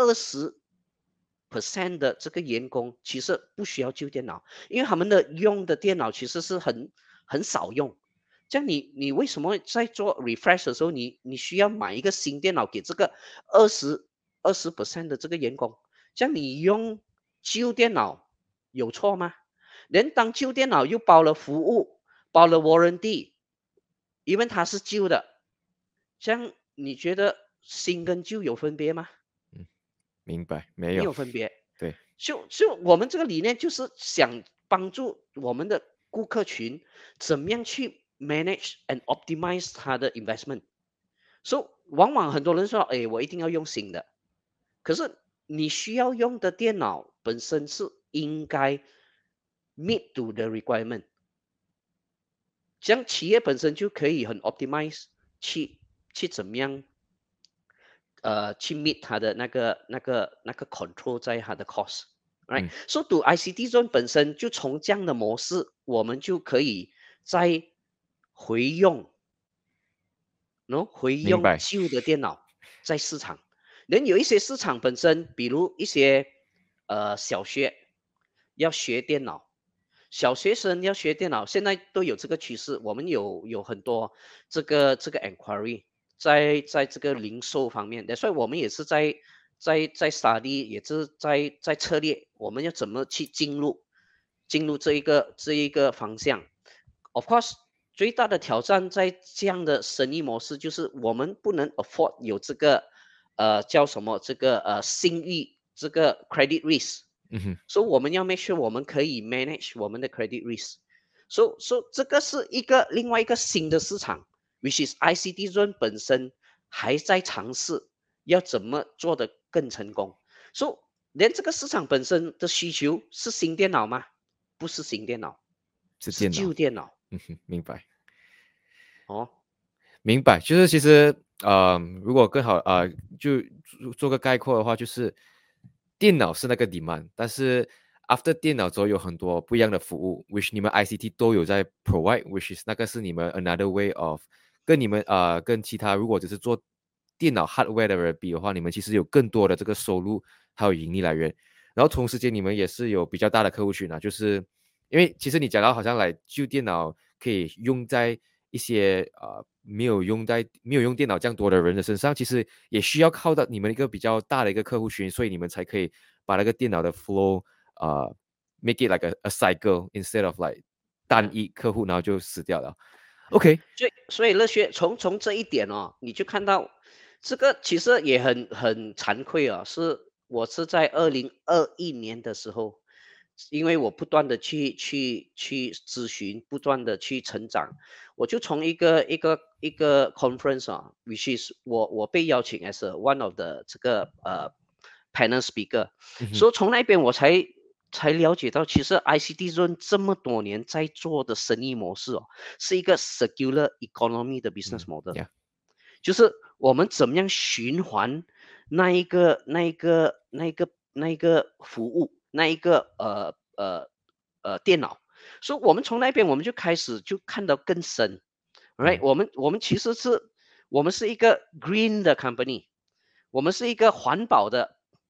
Speaker 2: 20% 的这个员工其实不需要旧电脑，因为他们的用的电脑其实是很少用。这样你为什么在做 refresh 的时候，你需要买一个新电脑给这个20% 的这个员工？这样你用旧电脑有错吗？连当旧电脑又包了服务，包了 warranty，因为它是旧的，这样你觉得新跟旧有分别吗？
Speaker 1: 嗯，明白，没
Speaker 2: 没
Speaker 1: 有，
Speaker 2: 有分别。
Speaker 1: 对，
Speaker 2: 我们这个理念就是想帮助我们的顾客群怎么样去 manage and optimize 他的 investment。往往很多人说，哎，我一定要用新的，可是你需要用的电脑本身是应该 meet to the requirement，这样企业本身就可以很 optimize 去怎么样去 meet 它的那个 control 在它的 cost，right？
Speaker 1: 嗯，
Speaker 2: 读 ICT Zone 本身就从这样的模式，我们就可以再回用，回用
Speaker 1: 明白，
Speaker 2: 旧的电脑在市场。人有一些市场本身，比如一些小学要学电脑，小学生要学电脑，现在都有这个趋势。我们有很多这个 enquiry 在这个零售方面的，所以我们也是在 study，也是在策略，我们要怎么去进入这一个方向。Of course，最大的挑战在这样的生意模式就是我们不能 afford 有这个叫什么这个信誉这个 credit risk。
Speaker 1: 嗯哼，
Speaker 2: 我们要 make sure 我们可以 manage 我们的 credit risk。这个是另外一个新的市场，which is ICT Zone 本身还在尝试要怎么做得更成功。连这个市场本身的需求是新电脑吗？不是新电脑，是
Speaker 1: 是电脑，
Speaker 2: 旧电脑。
Speaker 1: 嗯哼，明白。
Speaker 2: 哦，
Speaker 1: 明白，就是其实如果更好就做个概括的话，就是电脑是那个 demand，但是 after 电脑之后有很多不一样的服务，which 你们 ICT 都有在 provide，which is 那个是你们 another way of 跟你们跟其他如果只是做电脑 hardware 的人比的话，你们其实有更多的这个收入还有盈利来源，然后同时间你们也是有比较大的客户群啊，就是因为其实你讲到好像来旧电脑可以用在一些没有用电脑这样多的人的身上，其实也需要靠到你们一个比较大的一个客户群，所以你们才可以把那个电脑的 flow make it like a cycle instead of like 单
Speaker 2: 嗯，
Speaker 1: 一客户然后就死掉了。OK，
Speaker 2: 所以乐学从这一点哦，你就看到这个其实也很惭愧啊，我是在2021年的时候，因为我不断的去咨询，不断的去成长，我就从一个 conference 啊，which is 我被邀请 as one of the 这个panel speaker，
Speaker 1: 嗯哼，
Speaker 2: 从那边我才了解到，其实 ICT Zone 这么多年在做的生意模式哦。是一个 circular economy 的 business
Speaker 1: 嗯
Speaker 2: model，
Speaker 1: ，Yeah，
Speaker 2: 就是我们怎么样循环那一个服务，那一个电脑。我们从那边我们就开始就看到更深，right？
Speaker 1: 嗯
Speaker 2: 我们其实是我们是一个 green 的 company，我们是一个环保的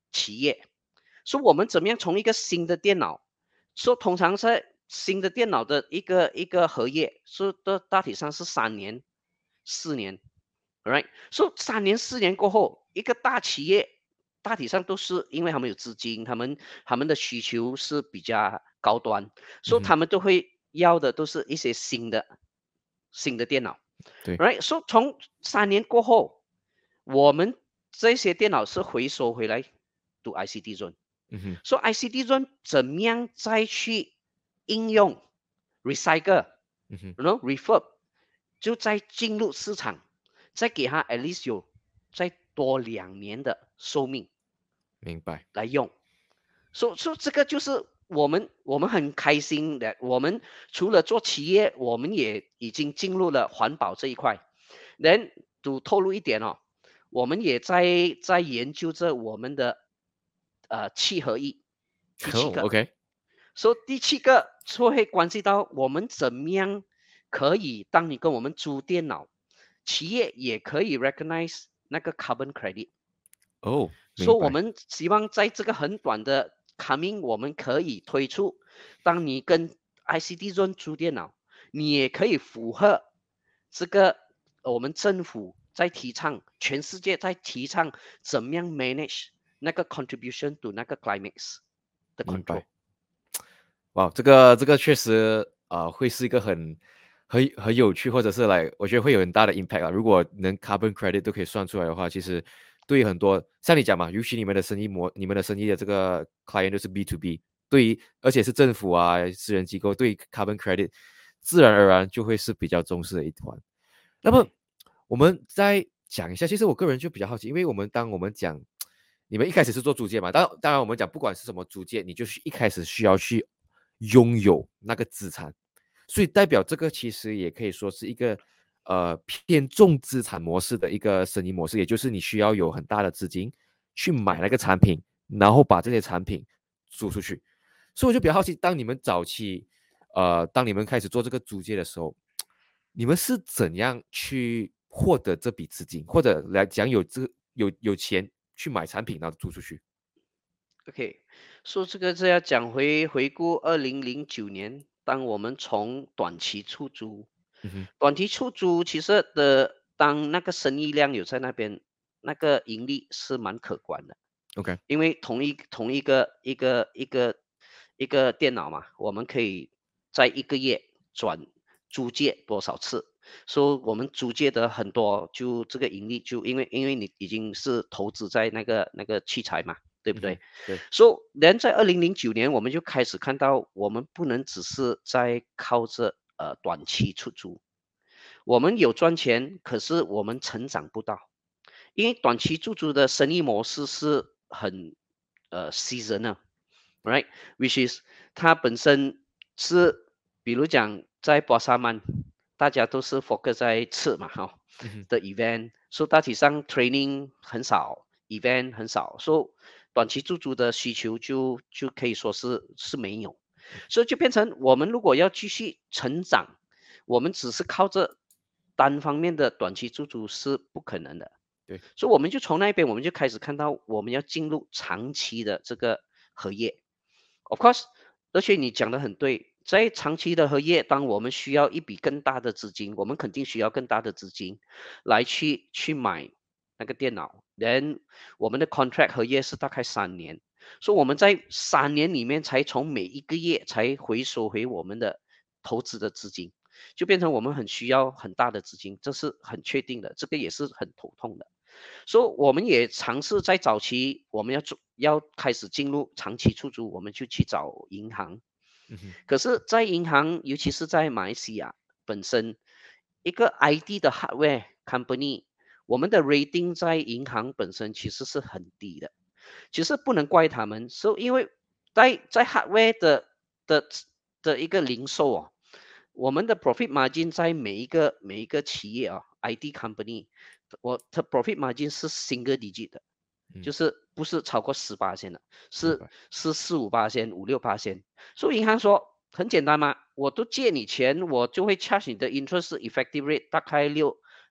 Speaker 2: 企业。所以我们怎么样从一个新的电脑，说通常在新的电脑的一个合约，说的大体上是3年、4年，right？所以3年、4年过后，一个大企业大体上都是因为他们有资金，他们的需求是比较高端，所以
Speaker 1: 嗯哼，
Speaker 2: 他们都会要的都是一些新的电脑
Speaker 1: 对，
Speaker 2: ，right？所以从3年过后，我们这些电脑是回收回来读 ICT Zone。
Speaker 1: 嗯哼，
Speaker 2: 说 ICT Zone 怎么样再去应用 recycle，
Speaker 1: 嗯哼，
Speaker 2: refurb，就再进入市场，再给它 at least 有再多2年的寿命
Speaker 1: 明白。
Speaker 2: 来用。说这个就是我们很开心的，我们除了做企业，我们也已经进入了环保这一块。能透露一点哦，我们也在研究着我们的七合一，第七
Speaker 1: 哦
Speaker 2: 个。
Speaker 1: ，OK，
Speaker 2: 所以第七个就会关系到我们怎么样可以，当你跟我们租电脑，企业也可以 recognize 那个 carbon credit。
Speaker 1: 哦，明白，
Speaker 2: 所以我们希望在这个很短的 coming，我们可以推出，当你跟 ICT Zone 租电脑，你也可以符合这个我们政府在提倡，全世界在提倡怎么样 manage 那个 contribution to 那个 climate 的
Speaker 1: 明
Speaker 2: control。
Speaker 1: 白。哇，这个确实会是一个很有趣，或者是来，我觉得会有很大的 impact 啊。如果能 carbon credit 都可以算出来的话，其实对于很多像你讲嘛，尤其你们的生意的这个 client 都是 B to B，对于而且是政府啊、私人机构，对于 carbon credit 自然而然就会是比较重视的一环。那么
Speaker 2: 对。
Speaker 1: 我们再讲一下，其实我个人就比较好奇，因为当我们讲你们一开始是做租借嘛，当然我们讲不管是什么租借，你就是一开始需要去拥有那个资产，所以代表这个其实也可以说是一个偏重资产模式的一个生意模式，也就是你需要有很大的资金去买那个产品，然后把这些产品租出去。所以我就比较好奇，当你们开始做这个租借的时候，你们是怎样去获得这笔资金，或者来讲有钱去买产品，然后租出去？
Speaker 2: OK，说这个是要讲回顾2009年，当我们从短期出租，
Speaker 1: 嗯哼
Speaker 2: 短期出租其实当那个生意量有在那边，那个盈利是蛮可观的。
Speaker 1: ，OK，
Speaker 2: 因为同一个电脑嘛，我们可以在一个月租借多少次，所以我们租借的很多，就这个盈利就因为你已经是投资在那个器材嘛，对不
Speaker 1: 嗯哼，
Speaker 2: 对？
Speaker 1: 对，
Speaker 2: 所以人在2009年我们就开始看到，我们不能只是在靠着短期出租，我们有赚钱，可是我们成长不到。因为短期出租的生意模式是很seasonal，right？Which is 它本身是，比如讲在巴沙曼，大家都是 focus 在吃嘛哈
Speaker 1: 嗯哼，
Speaker 2: 的 event，所以大体上 training 很少，event 很少，所以短期出租的需求就可以说是没有，所以就变成我们如果要继续成长，我们只是靠着单方面的短期出租是不可能的。
Speaker 1: 对，
Speaker 2: 所以我们就从那边我们就开始看到我们要进入长期的这个合约。Of course，而且你讲的很对，在长期的合约，当我们需要一笔更大的资金，我们肯定需要更大的资金来去买那个电脑。Then 我们的 contract 合约是大概3年，所以我们在3年里面才从每一个月才回收回我们的投资的资金，就变成我们很需要很大的资金，这是很确定的，这个也是很头痛的。所以我们也尝试在早期，我们要开始进入长期出租，我们就去找银行。
Speaker 1: 嗯哼，
Speaker 2: 可是，在银行，尤其是在马来西亚本身，一个 ID 的 hardware company，我们的 rating 在银行本身其实是很低的。其实不能怪他们，是因为在 hardware 的的一个零售哦，我们的 profit margin 在每一个企业啊，ID company，的 profit margin 是 single digit 的，
Speaker 1: 嗯，
Speaker 2: 就是不是超过18%的，是
Speaker 1: 明白，
Speaker 2: 是4、5%、5、6%。所以银行说很简单嘛，我都借你钱，我就会 charge 你的 interest effective rate 大概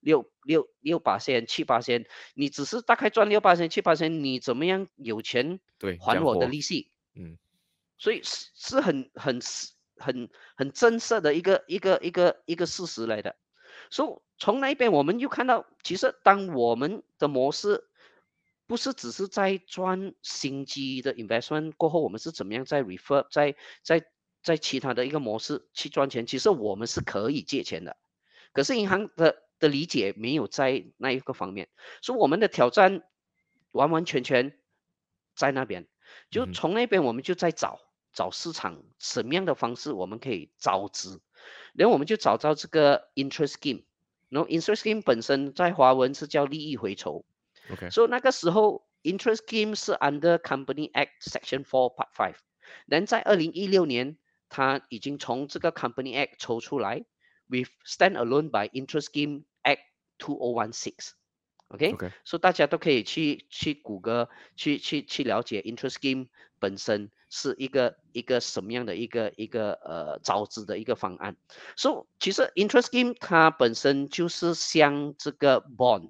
Speaker 2: 6%、7%，你只是大概赚6%、7%，你怎么样有钱
Speaker 1: 对，
Speaker 2: 还我的
Speaker 1: 讲活，
Speaker 2: 利息？
Speaker 1: 嗯
Speaker 2: 所以是很真实的一个事实来的。所以从那边我们又看到，其实当我们的模式不是只是在赚新机的 investment 过后，我们是怎么样在 refer 在在其他的一个模式去赚钱，其实我们是可以借钱的。可是银行的理解没有在那一个方面，所以我们的挑战完完全全在那边。就
Speaker 1: 嗯哼
Speaker 2: 从那边我们就在找市场什么样的方式我们可以招资，然后我们就找到这个 interest scheme，然后 interest scheme 本身在华文是叫利益回酬，
Speaker 1: ，OK，
Speaker 2: 所以那个时候 interest scheme 是 under Company Act Section 4 Part 5，然在2016年它已经从这个 Company Act 抽出来 with standalone by Interest Scheme Act 2016。OK，
Speaker 1: OK，
Speaker 2: 所以大家都可以去谷歌去了解 interest scheme 本身是一个什么样的一个招资的一个方案。所以其实 interest scheme 它本身就是像这个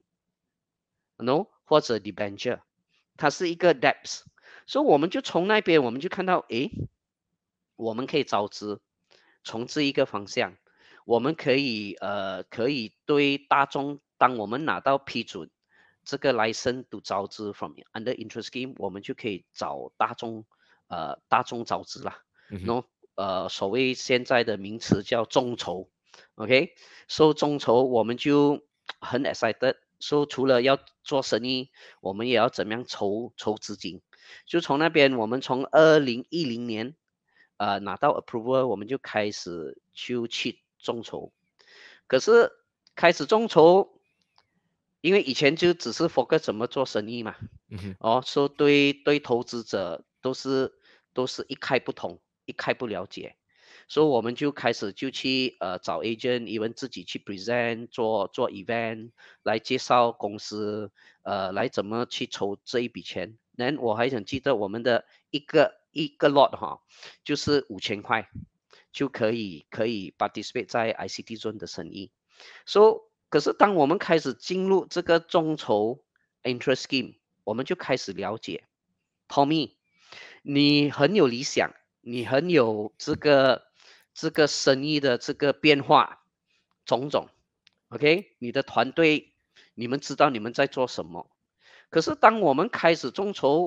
Speaker 2: bond，no 或者 debenture，它是一个 debts。所以我们就从那边我们就看到，诶，我们可以招资，从这一个方向，我们可以对大众，当我们拿到批准这个 license to 招资 from under interest scheme，我们就可以找大众招资啦。
Speaker 1: 嗯哼
Speaker 2: 然后所谓现在的名词叫众筹，OK，收众筹我们就很 excited。说除了要做生意，我们也要怎么样筹资金。就从那边，我们从2010年拿到 approval，我们就开始去众筹。可是开始众筹，因为以前就只是 focus 怎么做生意嘛，
Speaker 1: 嗯哼
Speaker 2: 说对投资者都是一概不通，一概不了解，所以我们就开始就去找 agent，even 自己去 present 做 event 来介绍公司，来怎么去筹这一笔钱。然我还想记得我们的一个 lot 哈，就是5000块就可以 participate 在 ICT Zone 的生意。可是当我们开始进入这个众筹 interest scheme，我们就开始了解 Tommy，你很有理想，你很有这个生意的这个变化种种，OK，你的团队，你们知道你们在做什么。可是当我们开始众筹，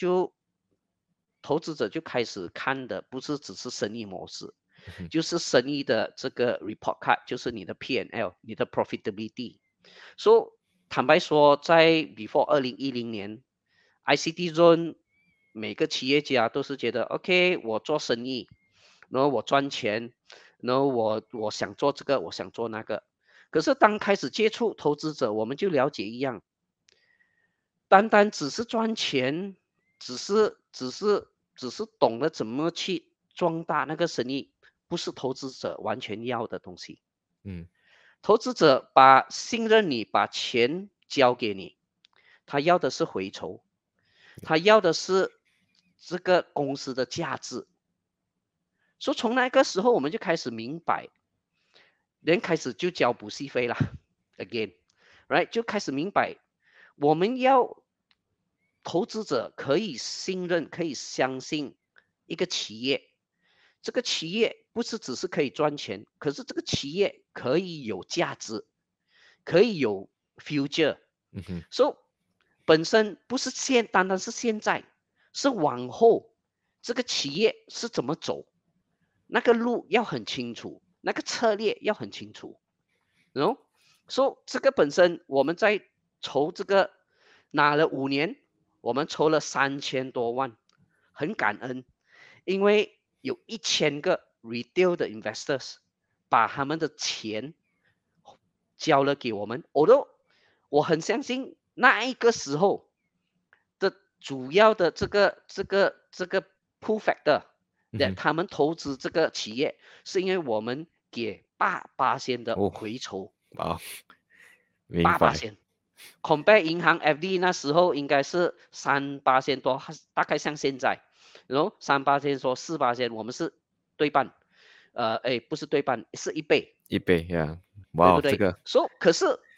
Speaker 2: 投资者就开始看的不是只是生意模式，
Speaker 1: 嗯哼
Speaker 2: 就是生意的这个 report card，就是你的 P&L，你的 profitability。所以坦白说，在 before 2010年，ICT Zone 每个企业家都是觉得 OK，我做生意，然后我赚钱，然后我想做这个，我想做那个。可是当开始接触投资者，我们就了解一样，单单只是赚钱，只是懂得怎么去壮大那个生意，不是投资者完全要的东西。
Speaker 1: 嗯
Speaker 2: 投资者信任你，把钱交给你，他要的是回酬，他要的是这个公司的价值。所以从那个时候我们就开始明白，人开始就交补习费了，again，right， 就开始明白，我们要投资者可以信任、可以相信一个企业，这个企业不是只是可以赚钱，可是这个企业可以有价值，可以有 future。
Speaker 1: 嗯哼
Speaker 2: 所以本身不是单单是现在，是往后这个企业是怎么走，那个路要很清楚，那个策略要很清楚。然后说这个本身我们在筹这个拿了5年，我们筹了3000多万，很感恩，因为有1000个 retail 的 investors 把他们的钱交了给我们。我很相信那一个时候的主要的这个 pull factor，
Speaker 1: 嗯哼，
Speaker 2: 他们投资这个企业，是因为我们给8%的
Speaker 1: 哦，
Speaker 2: 回酬，
Speaker 1: 啊，明白，
Speaker 2: 八八仙，compare 银行 FD 那时候应该是3%多，大概像现在，然后3%说4%，我们是对半，不是对半，是1倍，
Speaker 1: 1倍呀，哇哦，这
Speaker 2: 对不对？
Speaker 1: 个，
Speaker 2: 可是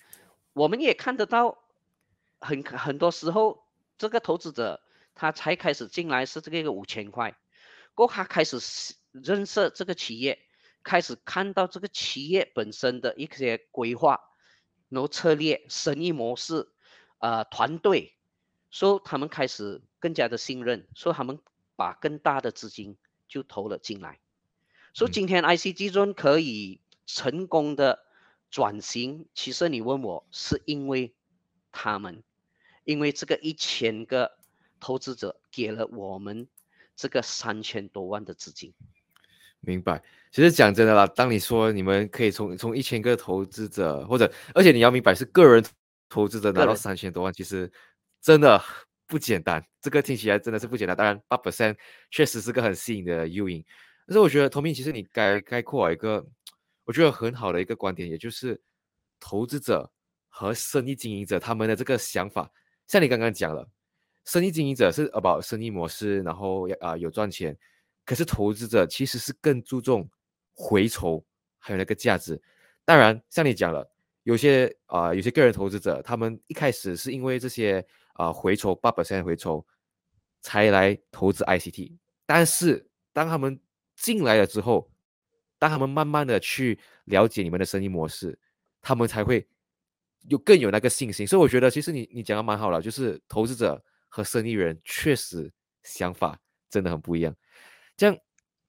Speaker 2: 我们也看得到很多时候这个投资者他才开始进来是这个5000块，过后他开始认识这个企业，开始看到这个企业本身的一些规划，然后策略、生意模式，团队，所以他们开始更加的信任，所以他们把更大的资金就投了进来。所以
Speaker 1: 嗯，
Speaker 2: 今天 ICG 中可以成功的转型，其实你问我是因为他们，因为这个1000个投资者给了我们这个3000多万的资金。
Speaker 1: 明白。其实讲真的啦，当你说你们可以从1000个投资者，或者而且你要明白是个人投资者拿到
Speaker 2: 个人
Speaker 1: 3000多万，其实真的不简单。这个听起来真的是不简单。当然8%确实是个很吸引的诱因，但是我觉得 Tommy 其实你概括了一个我觉得很好的一个观点，也就是投资者和生意经营者他们的这个想法，像你刚刚讲了，生意经营者是 about 生意模式，然后有赚钱，可是投资者其实是更注重回酬还有那个价值。当然，像你讲了，有些个人投资者，他们一开始是因为这些回酬8%回酬才来投资 ICT，但是当他们进来了之后，当他们慢慢的去了解你们的生意模式，他们才会更有那个信心。所以我觉得，其实你讲的蛮好了，就是投资者和生意人确实想法真的很不一样。这样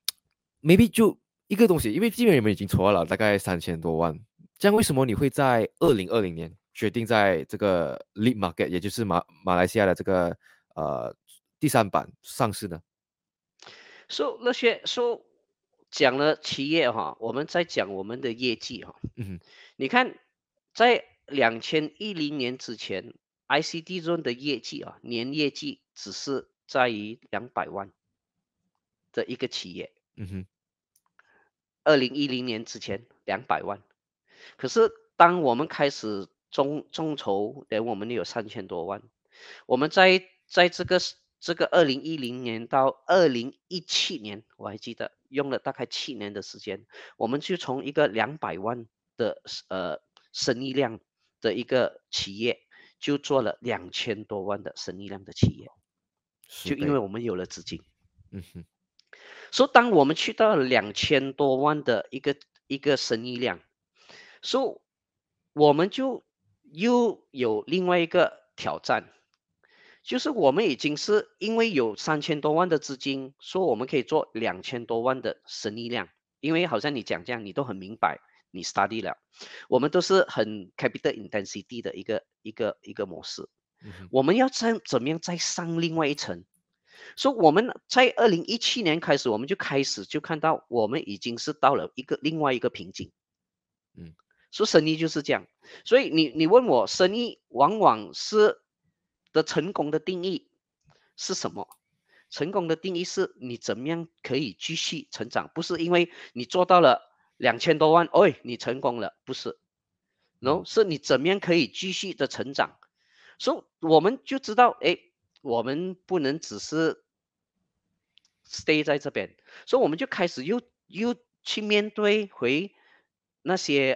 Speaker 1: ，maybe 就一个东西，因为基本你们已经筹了大概3000多万，这样为什么你会在2020年决定在这个 Lead Market，也就是马来西亚的这个第三板上市呢？
Speaker 2: 那些讲了企业哈，我们在讲我们的业绩哈。
Speaker 1: 嗯哼，
Speaker 2: 你看，在2010年之前，ICD Zone 的业绩年业绩只是在于200万的一个企业。
Speaker 1: 嗯哼，
Speaker 2: 2010年之前200万，可是当我们开始众筹，我们有3000多万。我们在这个2010年到2017年，我还记得用了大概7年的时间，我们就从一个200万的生意量的一个企业，就做了2000多万的生意量的企业，就因为
Speaker 1: 10倍，
Speaker 2: 我们有了资金。
Speaker 1: 嗯哼，
Speaker 2: 所以当我们去到2000多万的一个生意量，所以我们就又有另外一个挑战，就是我们已经是因为有3000多万的资金，说我们可以做2000多万的生意量。因为好像你讲这样，你都很明白，你 study 了，我们都是很 capital intensity 的一个模式。
Speaker 1: 嗯哼，
Speaker 2: 我们要怎么样再上另外一层？所以我们在2017年开始，我们就开始就看到我们已经是到了另外一个瓶颈。
Speaker 1: 嗯
Speaker 2: 说生意就是这样，所以你问我生意往往是的成功的定义是什么？成功的定义是你怎么样可以继续成长，不是因为你做到了2000多万，哎，你成功了，不是
Speaker 1: 嗯
Speaker 2: ，no，是你怎么样可以继续的成长。所以我们就知道，哎，我们不能只是 stay 在这边，所以我们就开始又去面对回那些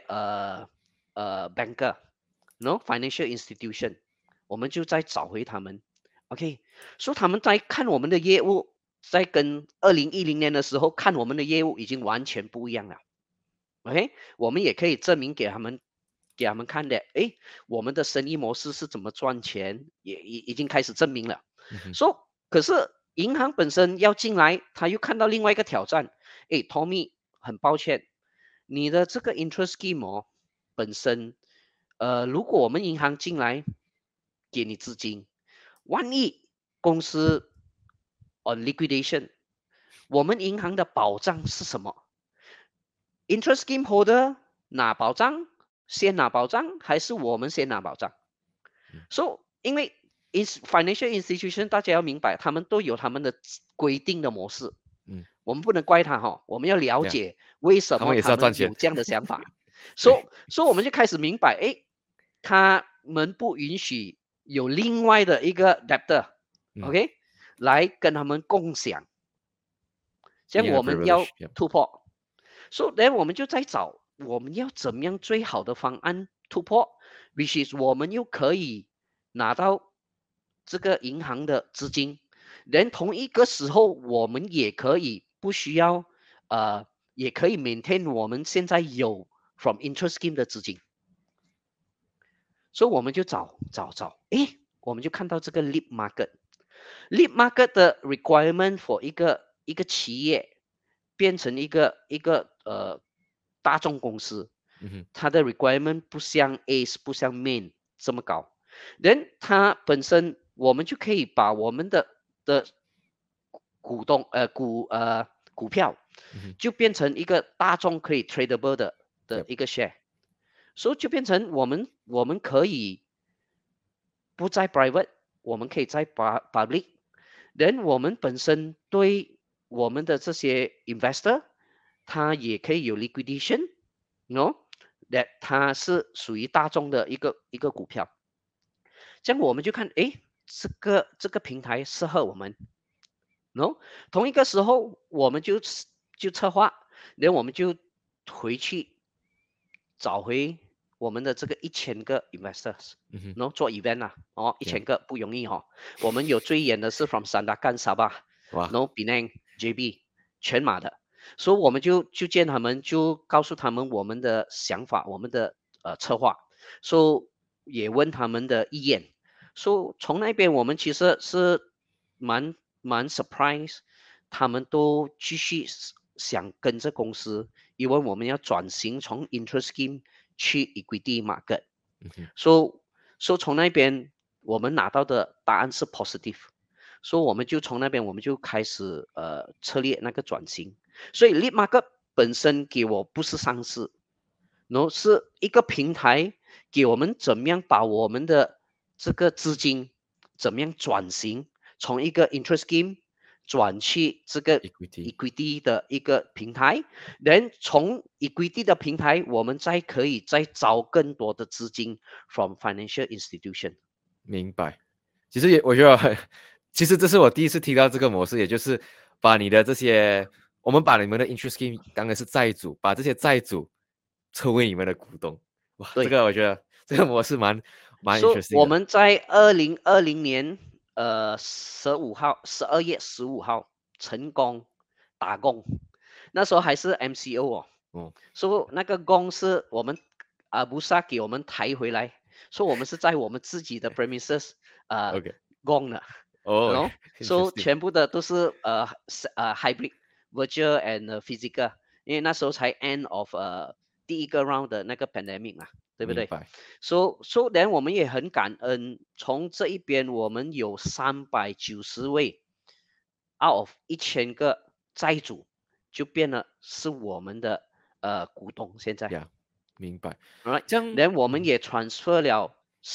Speaker 2: banker，no financial institution，我们就再找回他们，OK，所以他们在看我们的业务，在跟2010年的时候看我们的业务已经完全不一样了，OK，我们也可以证明给他们看的，诶，我们的生意模式是怎么赚钱，也已经开始证明了。
Speaker 1: 嗯哼，
Speaker 2: 说、可是银行本身要进来，他又看到另外一个挑战。诶 Tommy，很抱歉，你的这个 interest scheme 本身，如果我们银行进来给你资金，万一公司 on liquidation，我们银行的保障是什么？interest scheme holder 拿保障，先拿保障，还是我们先拿保障？
Speaker 1: 嗯
Speaker 2: 因为 financial institution 大家要明白，他们都有他们的规定的模式，
Speaker 1: 嗯，
Speaker 2: 我们不能怪他哈，我们要了
Speaker 1: 对啊，
Speaker 2: 解为什么
Speaker 1: 他们也是
Speaker 2: 他
Speaker 1: 要赚钱，
Speaker 2: 们有这样的想法。
Speaker 1: 对，
Speaker 2: 所以我们就开始明白，诶，他们不允许有另外的一个 debtor，OK，、
Speaker 1: 嗯
Speaker 2: 来跟他们共享，这样
Speaker 1: ，being a
Speaker 2: 我们要
Speaker 1: privilege，yeah，
Speaker 2: 突破。所以，我们就在找我们要怎么样最好的方案突破，which is 我们又可以拿到这个银行的资金，连同一个时候我们也可以不需要也可以 maintain 我们现在有 from interest scheme 的资金，所以我们就找，诶，我们就看到这个 lead market。lead market 的 requirement for 一个企业变成一个大众公司，它的 requirement 不像 ACE 不像 Main 这么高。人它本身我们就可以把我们的股东股票就变成一个大众可以 tradable 的一个 share，所以就变成我们可以不在 private，我们可以在 public。人我们本身对我们的这些 investor，他也可以有 liquidation，no，that 它是属于大众的一个股票。这样我们就看，诶，这个平台适合我们，no，同一个时候我们就策划，然后我们就回去找回我们的这个1000个 investors，然后做 event 啊，1000个不容易我们有最远的是 from Sandakan Sabah，然后 Penang JB 全马的，所以我们就见他们，就告诉他们我们的想法，我们的策划，所以也问他们的意见，所以从那边我们其实是蛮 surprise，他们都继续想跟着公司，因为我们要转型从 interest scheme 去 equity market，所以从那边我们拿到的答案是 positive，所以我们就从那边我们就开始策略那个转型，所以 lead market 本身给我不是上市，然后是一个平台给我们怎么样把我们的这个资金怎么样转型，从一个 interest scheme 转去这个 equity 的一个平台，然后从 equity 的平台，我们可以再招更多的资金 from financial institution。
Speaker 1: 明白。其实我觉得其实这是我第一次听到这个模式，也就是把你的这些，我们把你们的 interest scheme 当然是债主，把这些债主成为你们的股东。哇，这个我觉得这个模式蛮 interesting 的。
Speaker 2: 我们在2020年12月15号成功打工，那时候还是 MCO 所以那个工是我们布萨给我们抬回来，所以我们是在我们自己的 premises 工的，所以全部的都是hybrid virtual and physical， 因为那时候才 end of 第一个 round 的那个 pandemic 嘛，对不对？So then 我们也很感恩，从这一边我们有390位 out of 1000个债主，就变了是我们的股东。现在，
Speaker 1: 明白。
Speaker 2: 这样 ，then 我们也 transfer 了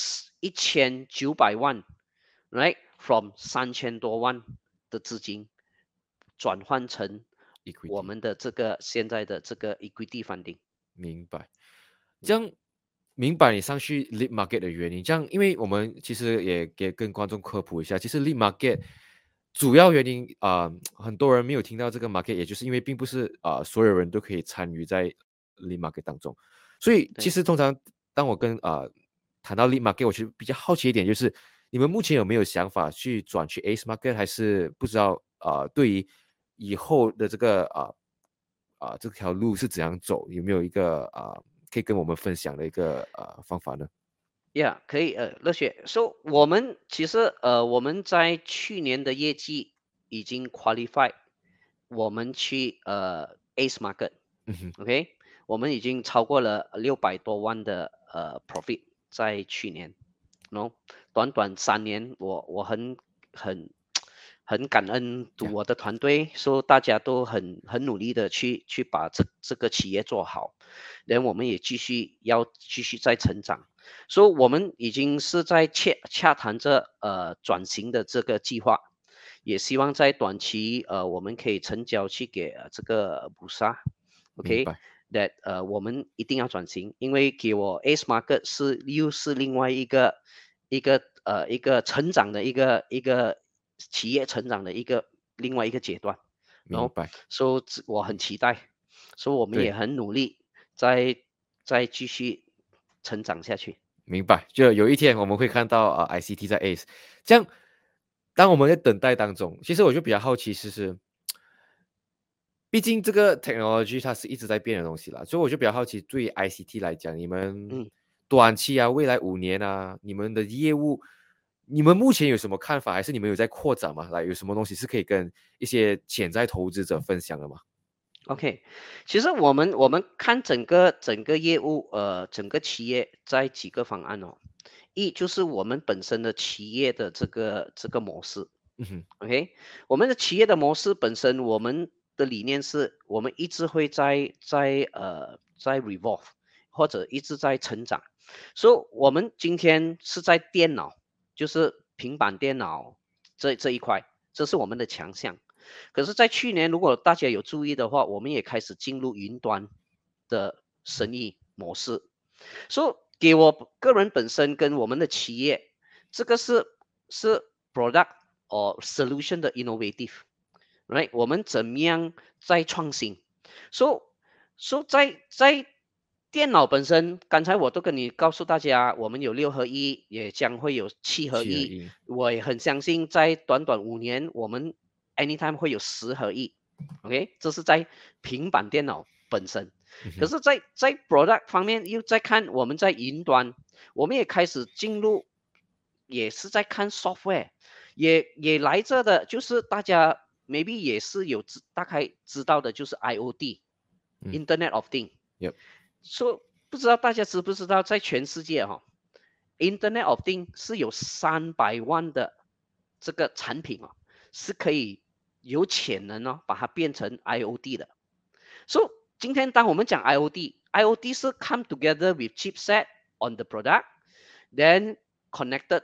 Speaker 2: 1900万 ，right from 3000多万的资金转换成我们的这个现在的这个 equity funding。
Speaker 1: 明白。这样明白你上去 lead market 的原因，这样因为我们其实也跟观众科普一下，其实 lead market 主要原因很多人没有听到这个 market， 也就是因为并不是所有人都可以参与在 lead market 当中，所以其实通常当我跟谈到 lead market， 我其实比较好奇一点，就是你们目前有没有想法去转去 ACE market， 还是不知道对于以后的这个这条路是怎样走，有没有一个可以跟我们分享的一个方法呢
Speaker 2: 可以乐雪说，我们其实我们在去年的业绩已经 qualify， 我们去ACE market，OK，我们已经超过了600多万的profit 在去年，短短3年，我很感恩我的团队，说大家都很努力的去把这个企业做好，然后我们也继续在成长，所以我们已经是在洽谈着转型的这个计划，也希望在短期我们可以成交去给这个布萨 ，OK， that 我们一定要转型，因为给我 ACE market 又是另外一个成长的一个企业成长的另外一个阶段，
Speaker 1: 明白。
Speaker 2: 所以我很期待，所以我们也很努力在继续成长下去。
Speaker 1: 明白，就有一天我们会看到ICT 在 ACE，这样，当我们在等待当中，其实我就比较好奇，毕竟这个 technology 它是一直在变的东西啦，所以我就比较好奇，对于 ICT 来讲，你们
Speaker 2: 嗯。
Speaker 1: 短期啊，未来5年啊，你们的业务，你们目前有什么看法？还是你们有在扩展吗？来，有什么东西是可以跟一些潜在投资者分享的吗？
Speaker 2: OK，其实我们看整个业务，整个企业在几个方案哦。一就是我们本身的企业的这个模式
Speaker 1: 嗯哼，
Speaker 2: ，OK，我们的企业的模式本身，我们的理念是我们一直会在 revolve，或者一直在成长。所以我们今天是在电脑，就是平板电脑这一块，这是我们的强项。可是，在去年，如果大家有注意的话，我们也开始进入云端的生意模式。所以，给我个人本身跟我们的企业，这个是 product or solution 的 innovative，right？我们怎么样在创新？So 在电脑本身，刚才我都跟你告诉大家，我们有6合1，也将会有7合1。
Speaker 1: 7合1，
Speaker 2: 我也很相信，在短短5年，我们 anytime 会有10合1。OK，这是在平板电脑本身。
Speaker 1: 嗯哼，
Speaker 2: 可是在 product 方面，又在看我们在云端，我们也开始进入，也是在看 software，也来着的，就是大家 maybe 也是有大概知道的，就是
Speaker 1: 嗯
Speaker 2: IoT，Internet of Things。
Speaker 1: ，Yep，
Speaker 2: 说不知道大家知不知道，在全世界Internet of Things 是有300万的这个产品是可以有潜能把它变成 IoT 的。So 今天当我们讲 IoT 是 come together with chipset on the product, then connected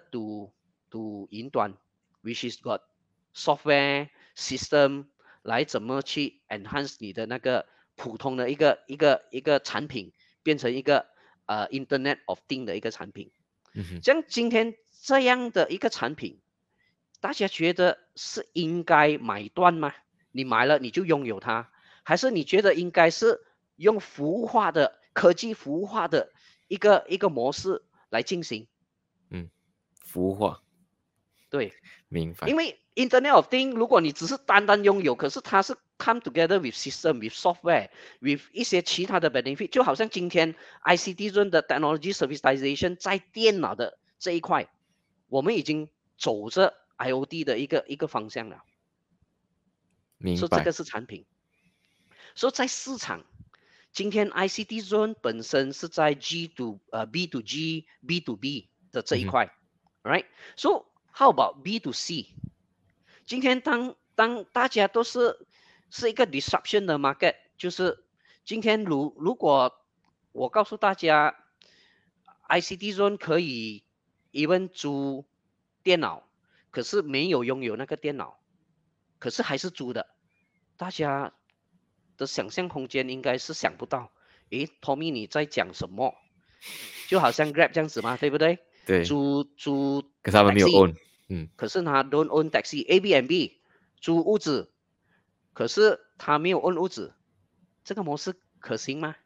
Speaker 2: to 云端 which is got software system 来怎么去 enhance 你的那个普通的一个产品，变成一个Internet of Thing 的一个产品。
Speaker 1: 嗯哼，
Speaker 2: 像今天这样的一个产品，大家觉得是应该买断吗？你买了你就拥有它，还是你觉得应该是用服务化的科技服务化的一个模式来进行？
Speaker 1: 嗯，孵化，
Speaker 2: 对，
Speaker 1: 明白。
Speaker 2: 因为 Internet of Things，如果你只是单单拥有，可是它是 come together with system、with software、with 一些其他的 benefit，就好像今天 ICT 论的 technology servitization 在电脑的这一块，我们已经走着 IoT 的一个方向了。说这
Speaker 1: 明白，
Speaker 2: 个是产品，说在市场，今天 ICT Zone 本身是在 B to G B to B 的这
Speaker 1: 嗯哼，
Speaker 2: 一块，right？So how about B to C？今天当大家都是一个 disruption 的 market，就是今天如果我告诉大家，ICT Zone 可以 even 租电脑，可是没有拥有那个电脑，可是还是租的，大家的想象空间应该是想不到。诶，Tommy 你在讲什么？就好像 Grab 这样子嘛，对不对？
Speaker 1: 对，
Speaker 2: 租
Speaker 1: 可是他们没有
Speaker 2: taxi，
Speaker 1: own，嗯，
Speaker 2: 可是他 don't own taxi，Airbnb 租屋子，可是他没有 own 屋子，这个模式可行吗？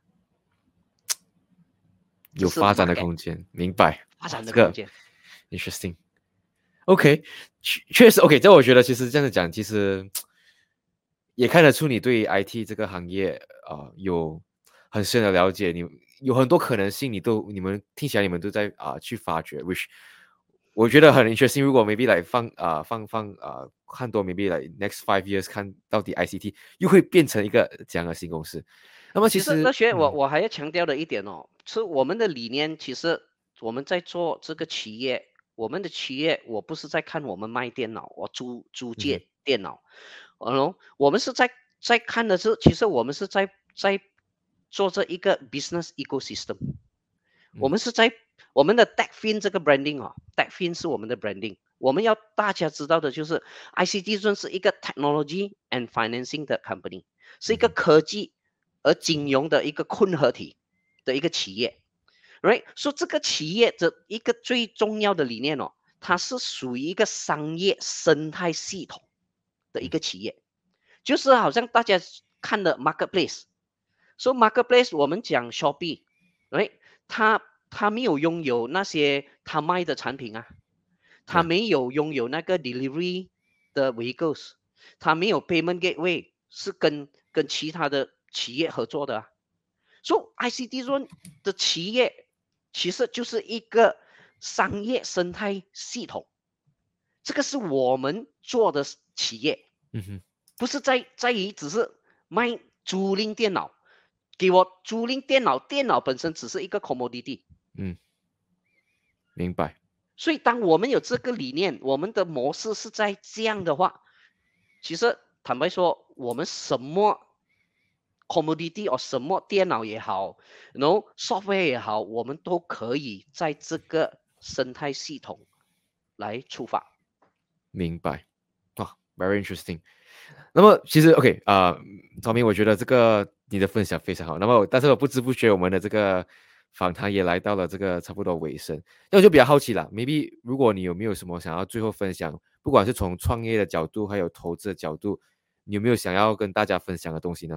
Speaker 2: 这是
Speaker 1: 有发展的
Speaker 2: market
Speaker 1: 空间，明白。
Speaker 2: 发
Speaker 1: 哇，这个
Speaker 2: 展的空间。
Speaker 1: interesting。OK，确实 OK，这我觉得其实这样子讲，其实也看得出你对 IT 这个行业有很深的了解，你有很多可能性，你们听起来你们都在去发掘，which 我觉得很 interesting。如果 maybe 来看多 maybe 来 next 5 years 看到底 ICT 又会变成一个怎样的新公司？那么其
Speaker 2: 其实乐学，我
Speaker 1: 实
Speaker 2: 我还要强调的一点是我们的理念。其实我们在做这个企业，我们的企业，我不是在看我们卖电脑，我租
Speaker 1: 嗯哼
Speaker 2: 借电脑，我们是在看的是，其实我们是在做这一个 business ecosystem。我
Speaker 1: 嗯
Speaker 2: 们是在我们的 TechFin 这个 branding，TechFin 是我们的 branding。我们要大家知道的就是，ICT 算是一个 technology and financing 的 company，是一个
Speaker 1: 嗯哼
Speaker 2: 科技和金融的一个混合体的一个企业，right？所以这个企业的一个最重要的理念它是属于一个商业生态系统的一
Speaker 1: 嗯
Speaker 2: 个企业，就是好像大家看的 marketplace。所以 marketplace 我们讲 Shopee，right？它他没有拥有那些他卖的产品啊，他
Speaker 1: 呀，
Speaker 2: 没有拥有那个 delivery 的 vehicles，他没有 payment gateway，是跟其他的企业合作的啊。所以 ICT Zone 的企业其实就是一个商业生态系统，这个是我们做的企业，
Speaker 1: 嗯哼，
Speaker 2: 不是在于只是卖租赁电脑，给我租赁电脑，电脑本身只是一个 commodity。
Speaker 1: 嗯，明白，
Speaker 2: 所以当我们有这个理念，我们的模式是在这样的话，其实坦白说，我们什么 commodity 或什么电脑也好，然后 software 也好，我们都可以在这个生态系统来出发。
Speaker 1: 明白，哇，very interesting。那么其实 OK 赵明，我觉得这个你的分享非常好。那么，但是我不知不觉我们的这个访谈也来到了这个差不多尾声。那我就比较好奇了，maybe 如果你有没有什么想要最后分享，不管是从创业的角度，还有投资的角度，你有没有想要跟大家分享的东西呢？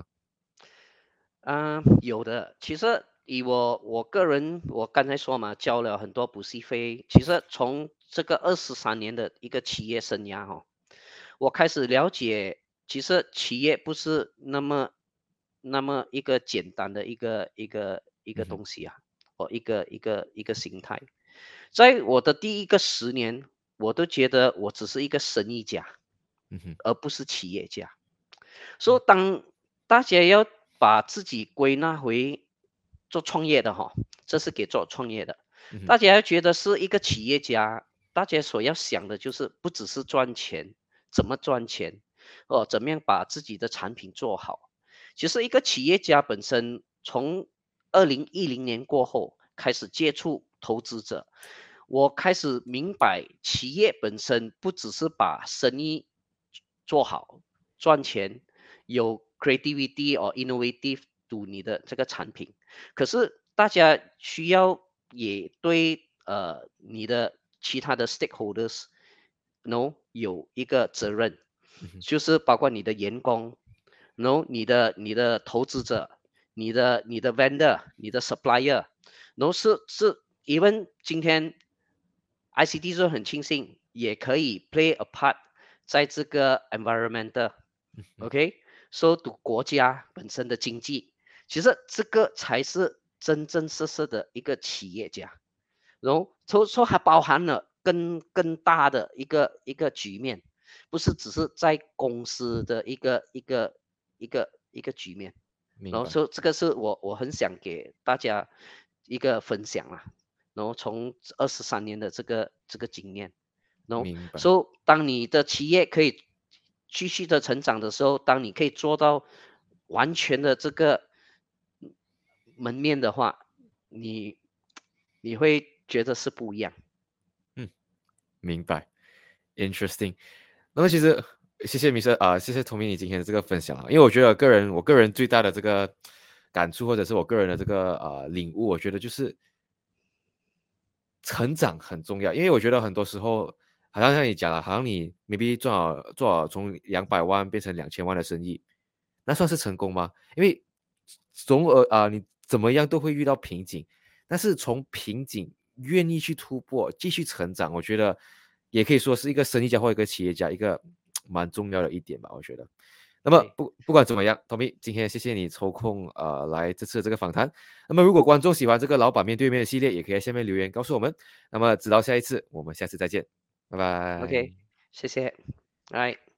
Speaker 2: 有的。其实以我个人，我刚才说嘛，交了很多补习费。其实从这个23年的一个企业生涯哈、我开始了解，其实企业不是那么一个简单的一个
Speaker 1: 嗯哼，
Speaker 2: 东西啊，一个形态。在我的第一个10年，我都觉得我只是一个生意家，
Speaker 1: 嗯哼，
Speaker 2: 而不是企业家。所以当大家要把自己归纳回做创业的哈，这是给做创业的。
Speaker 1: 嗯哼，
Speaker 2: 大家要觉得是一个企业家，大家所要想的就是不只是赚钱，怎么赚钱，怎么样把自己的产品做好。其实一个企业家本身从2010年过后开始接触投资者，我开始明白企业本身不只是把生意做好赚钱，有 creativity or innovative to 你的这个产品，可是大家需要也对你的其他的 stakeholders有一个责任，
Speaker 1: 嗯哼，
Speaker 2: 就是包括你的员工你的投资者，你的 vendor，你的 supplier，是 even 今天 ICT 是很庆幸也可以 play a part 在这个 environmental。
Speaker 1: 嗯哼，
Speaker 2: OK，so to 国家本身的经济，其实这个才是真真实实的一个企业家。然后说还包含了更大的一个局面，不是只是在公司的一个局面。然后
Speaker 1: 明白，
Speaker 2: 说这个是我很想给大家一个分享啊。然后从23年的这个经验，然后
Speaker 1: 明白，
Speaker 2: 说当你的企业可以继续的成长的时候，当你可以做到完全的这个门面的话，你你会觉得是不一样。
Speaker 1: 嗯，明白，interesting。那么其实谢谢米生谢谢童明你今天的这个分享啊，因为我觉得我个人最大的这个感触，或者是我个人的这个领悟，我觉得就是成长很重要，因为我觉得很多时候，好像你讲了，好像你 maybe 做好从200万变成2000万的生意，那算是成功吗？因为总你怎么样都会遇到瓶颈，但是从瓶颈愿意去突破，继续成长，我觉得也可以说是一个生意家或一个企业家一个蛮重要的一点吧，我觉得。那么
Speaker 2: 对
Speaker 1: 不管怎么样，Tommy，今天谢谢你抽空来这次的这个访谈。那么如果观众喜欢这个老板面对面的系列，也可以在下面留言告诉我们。那么直到下一次，我们下次再见，拜
Speaker 2: ，OK，
Speaker 1: 拜。
Speaker 2: 谢谢，来。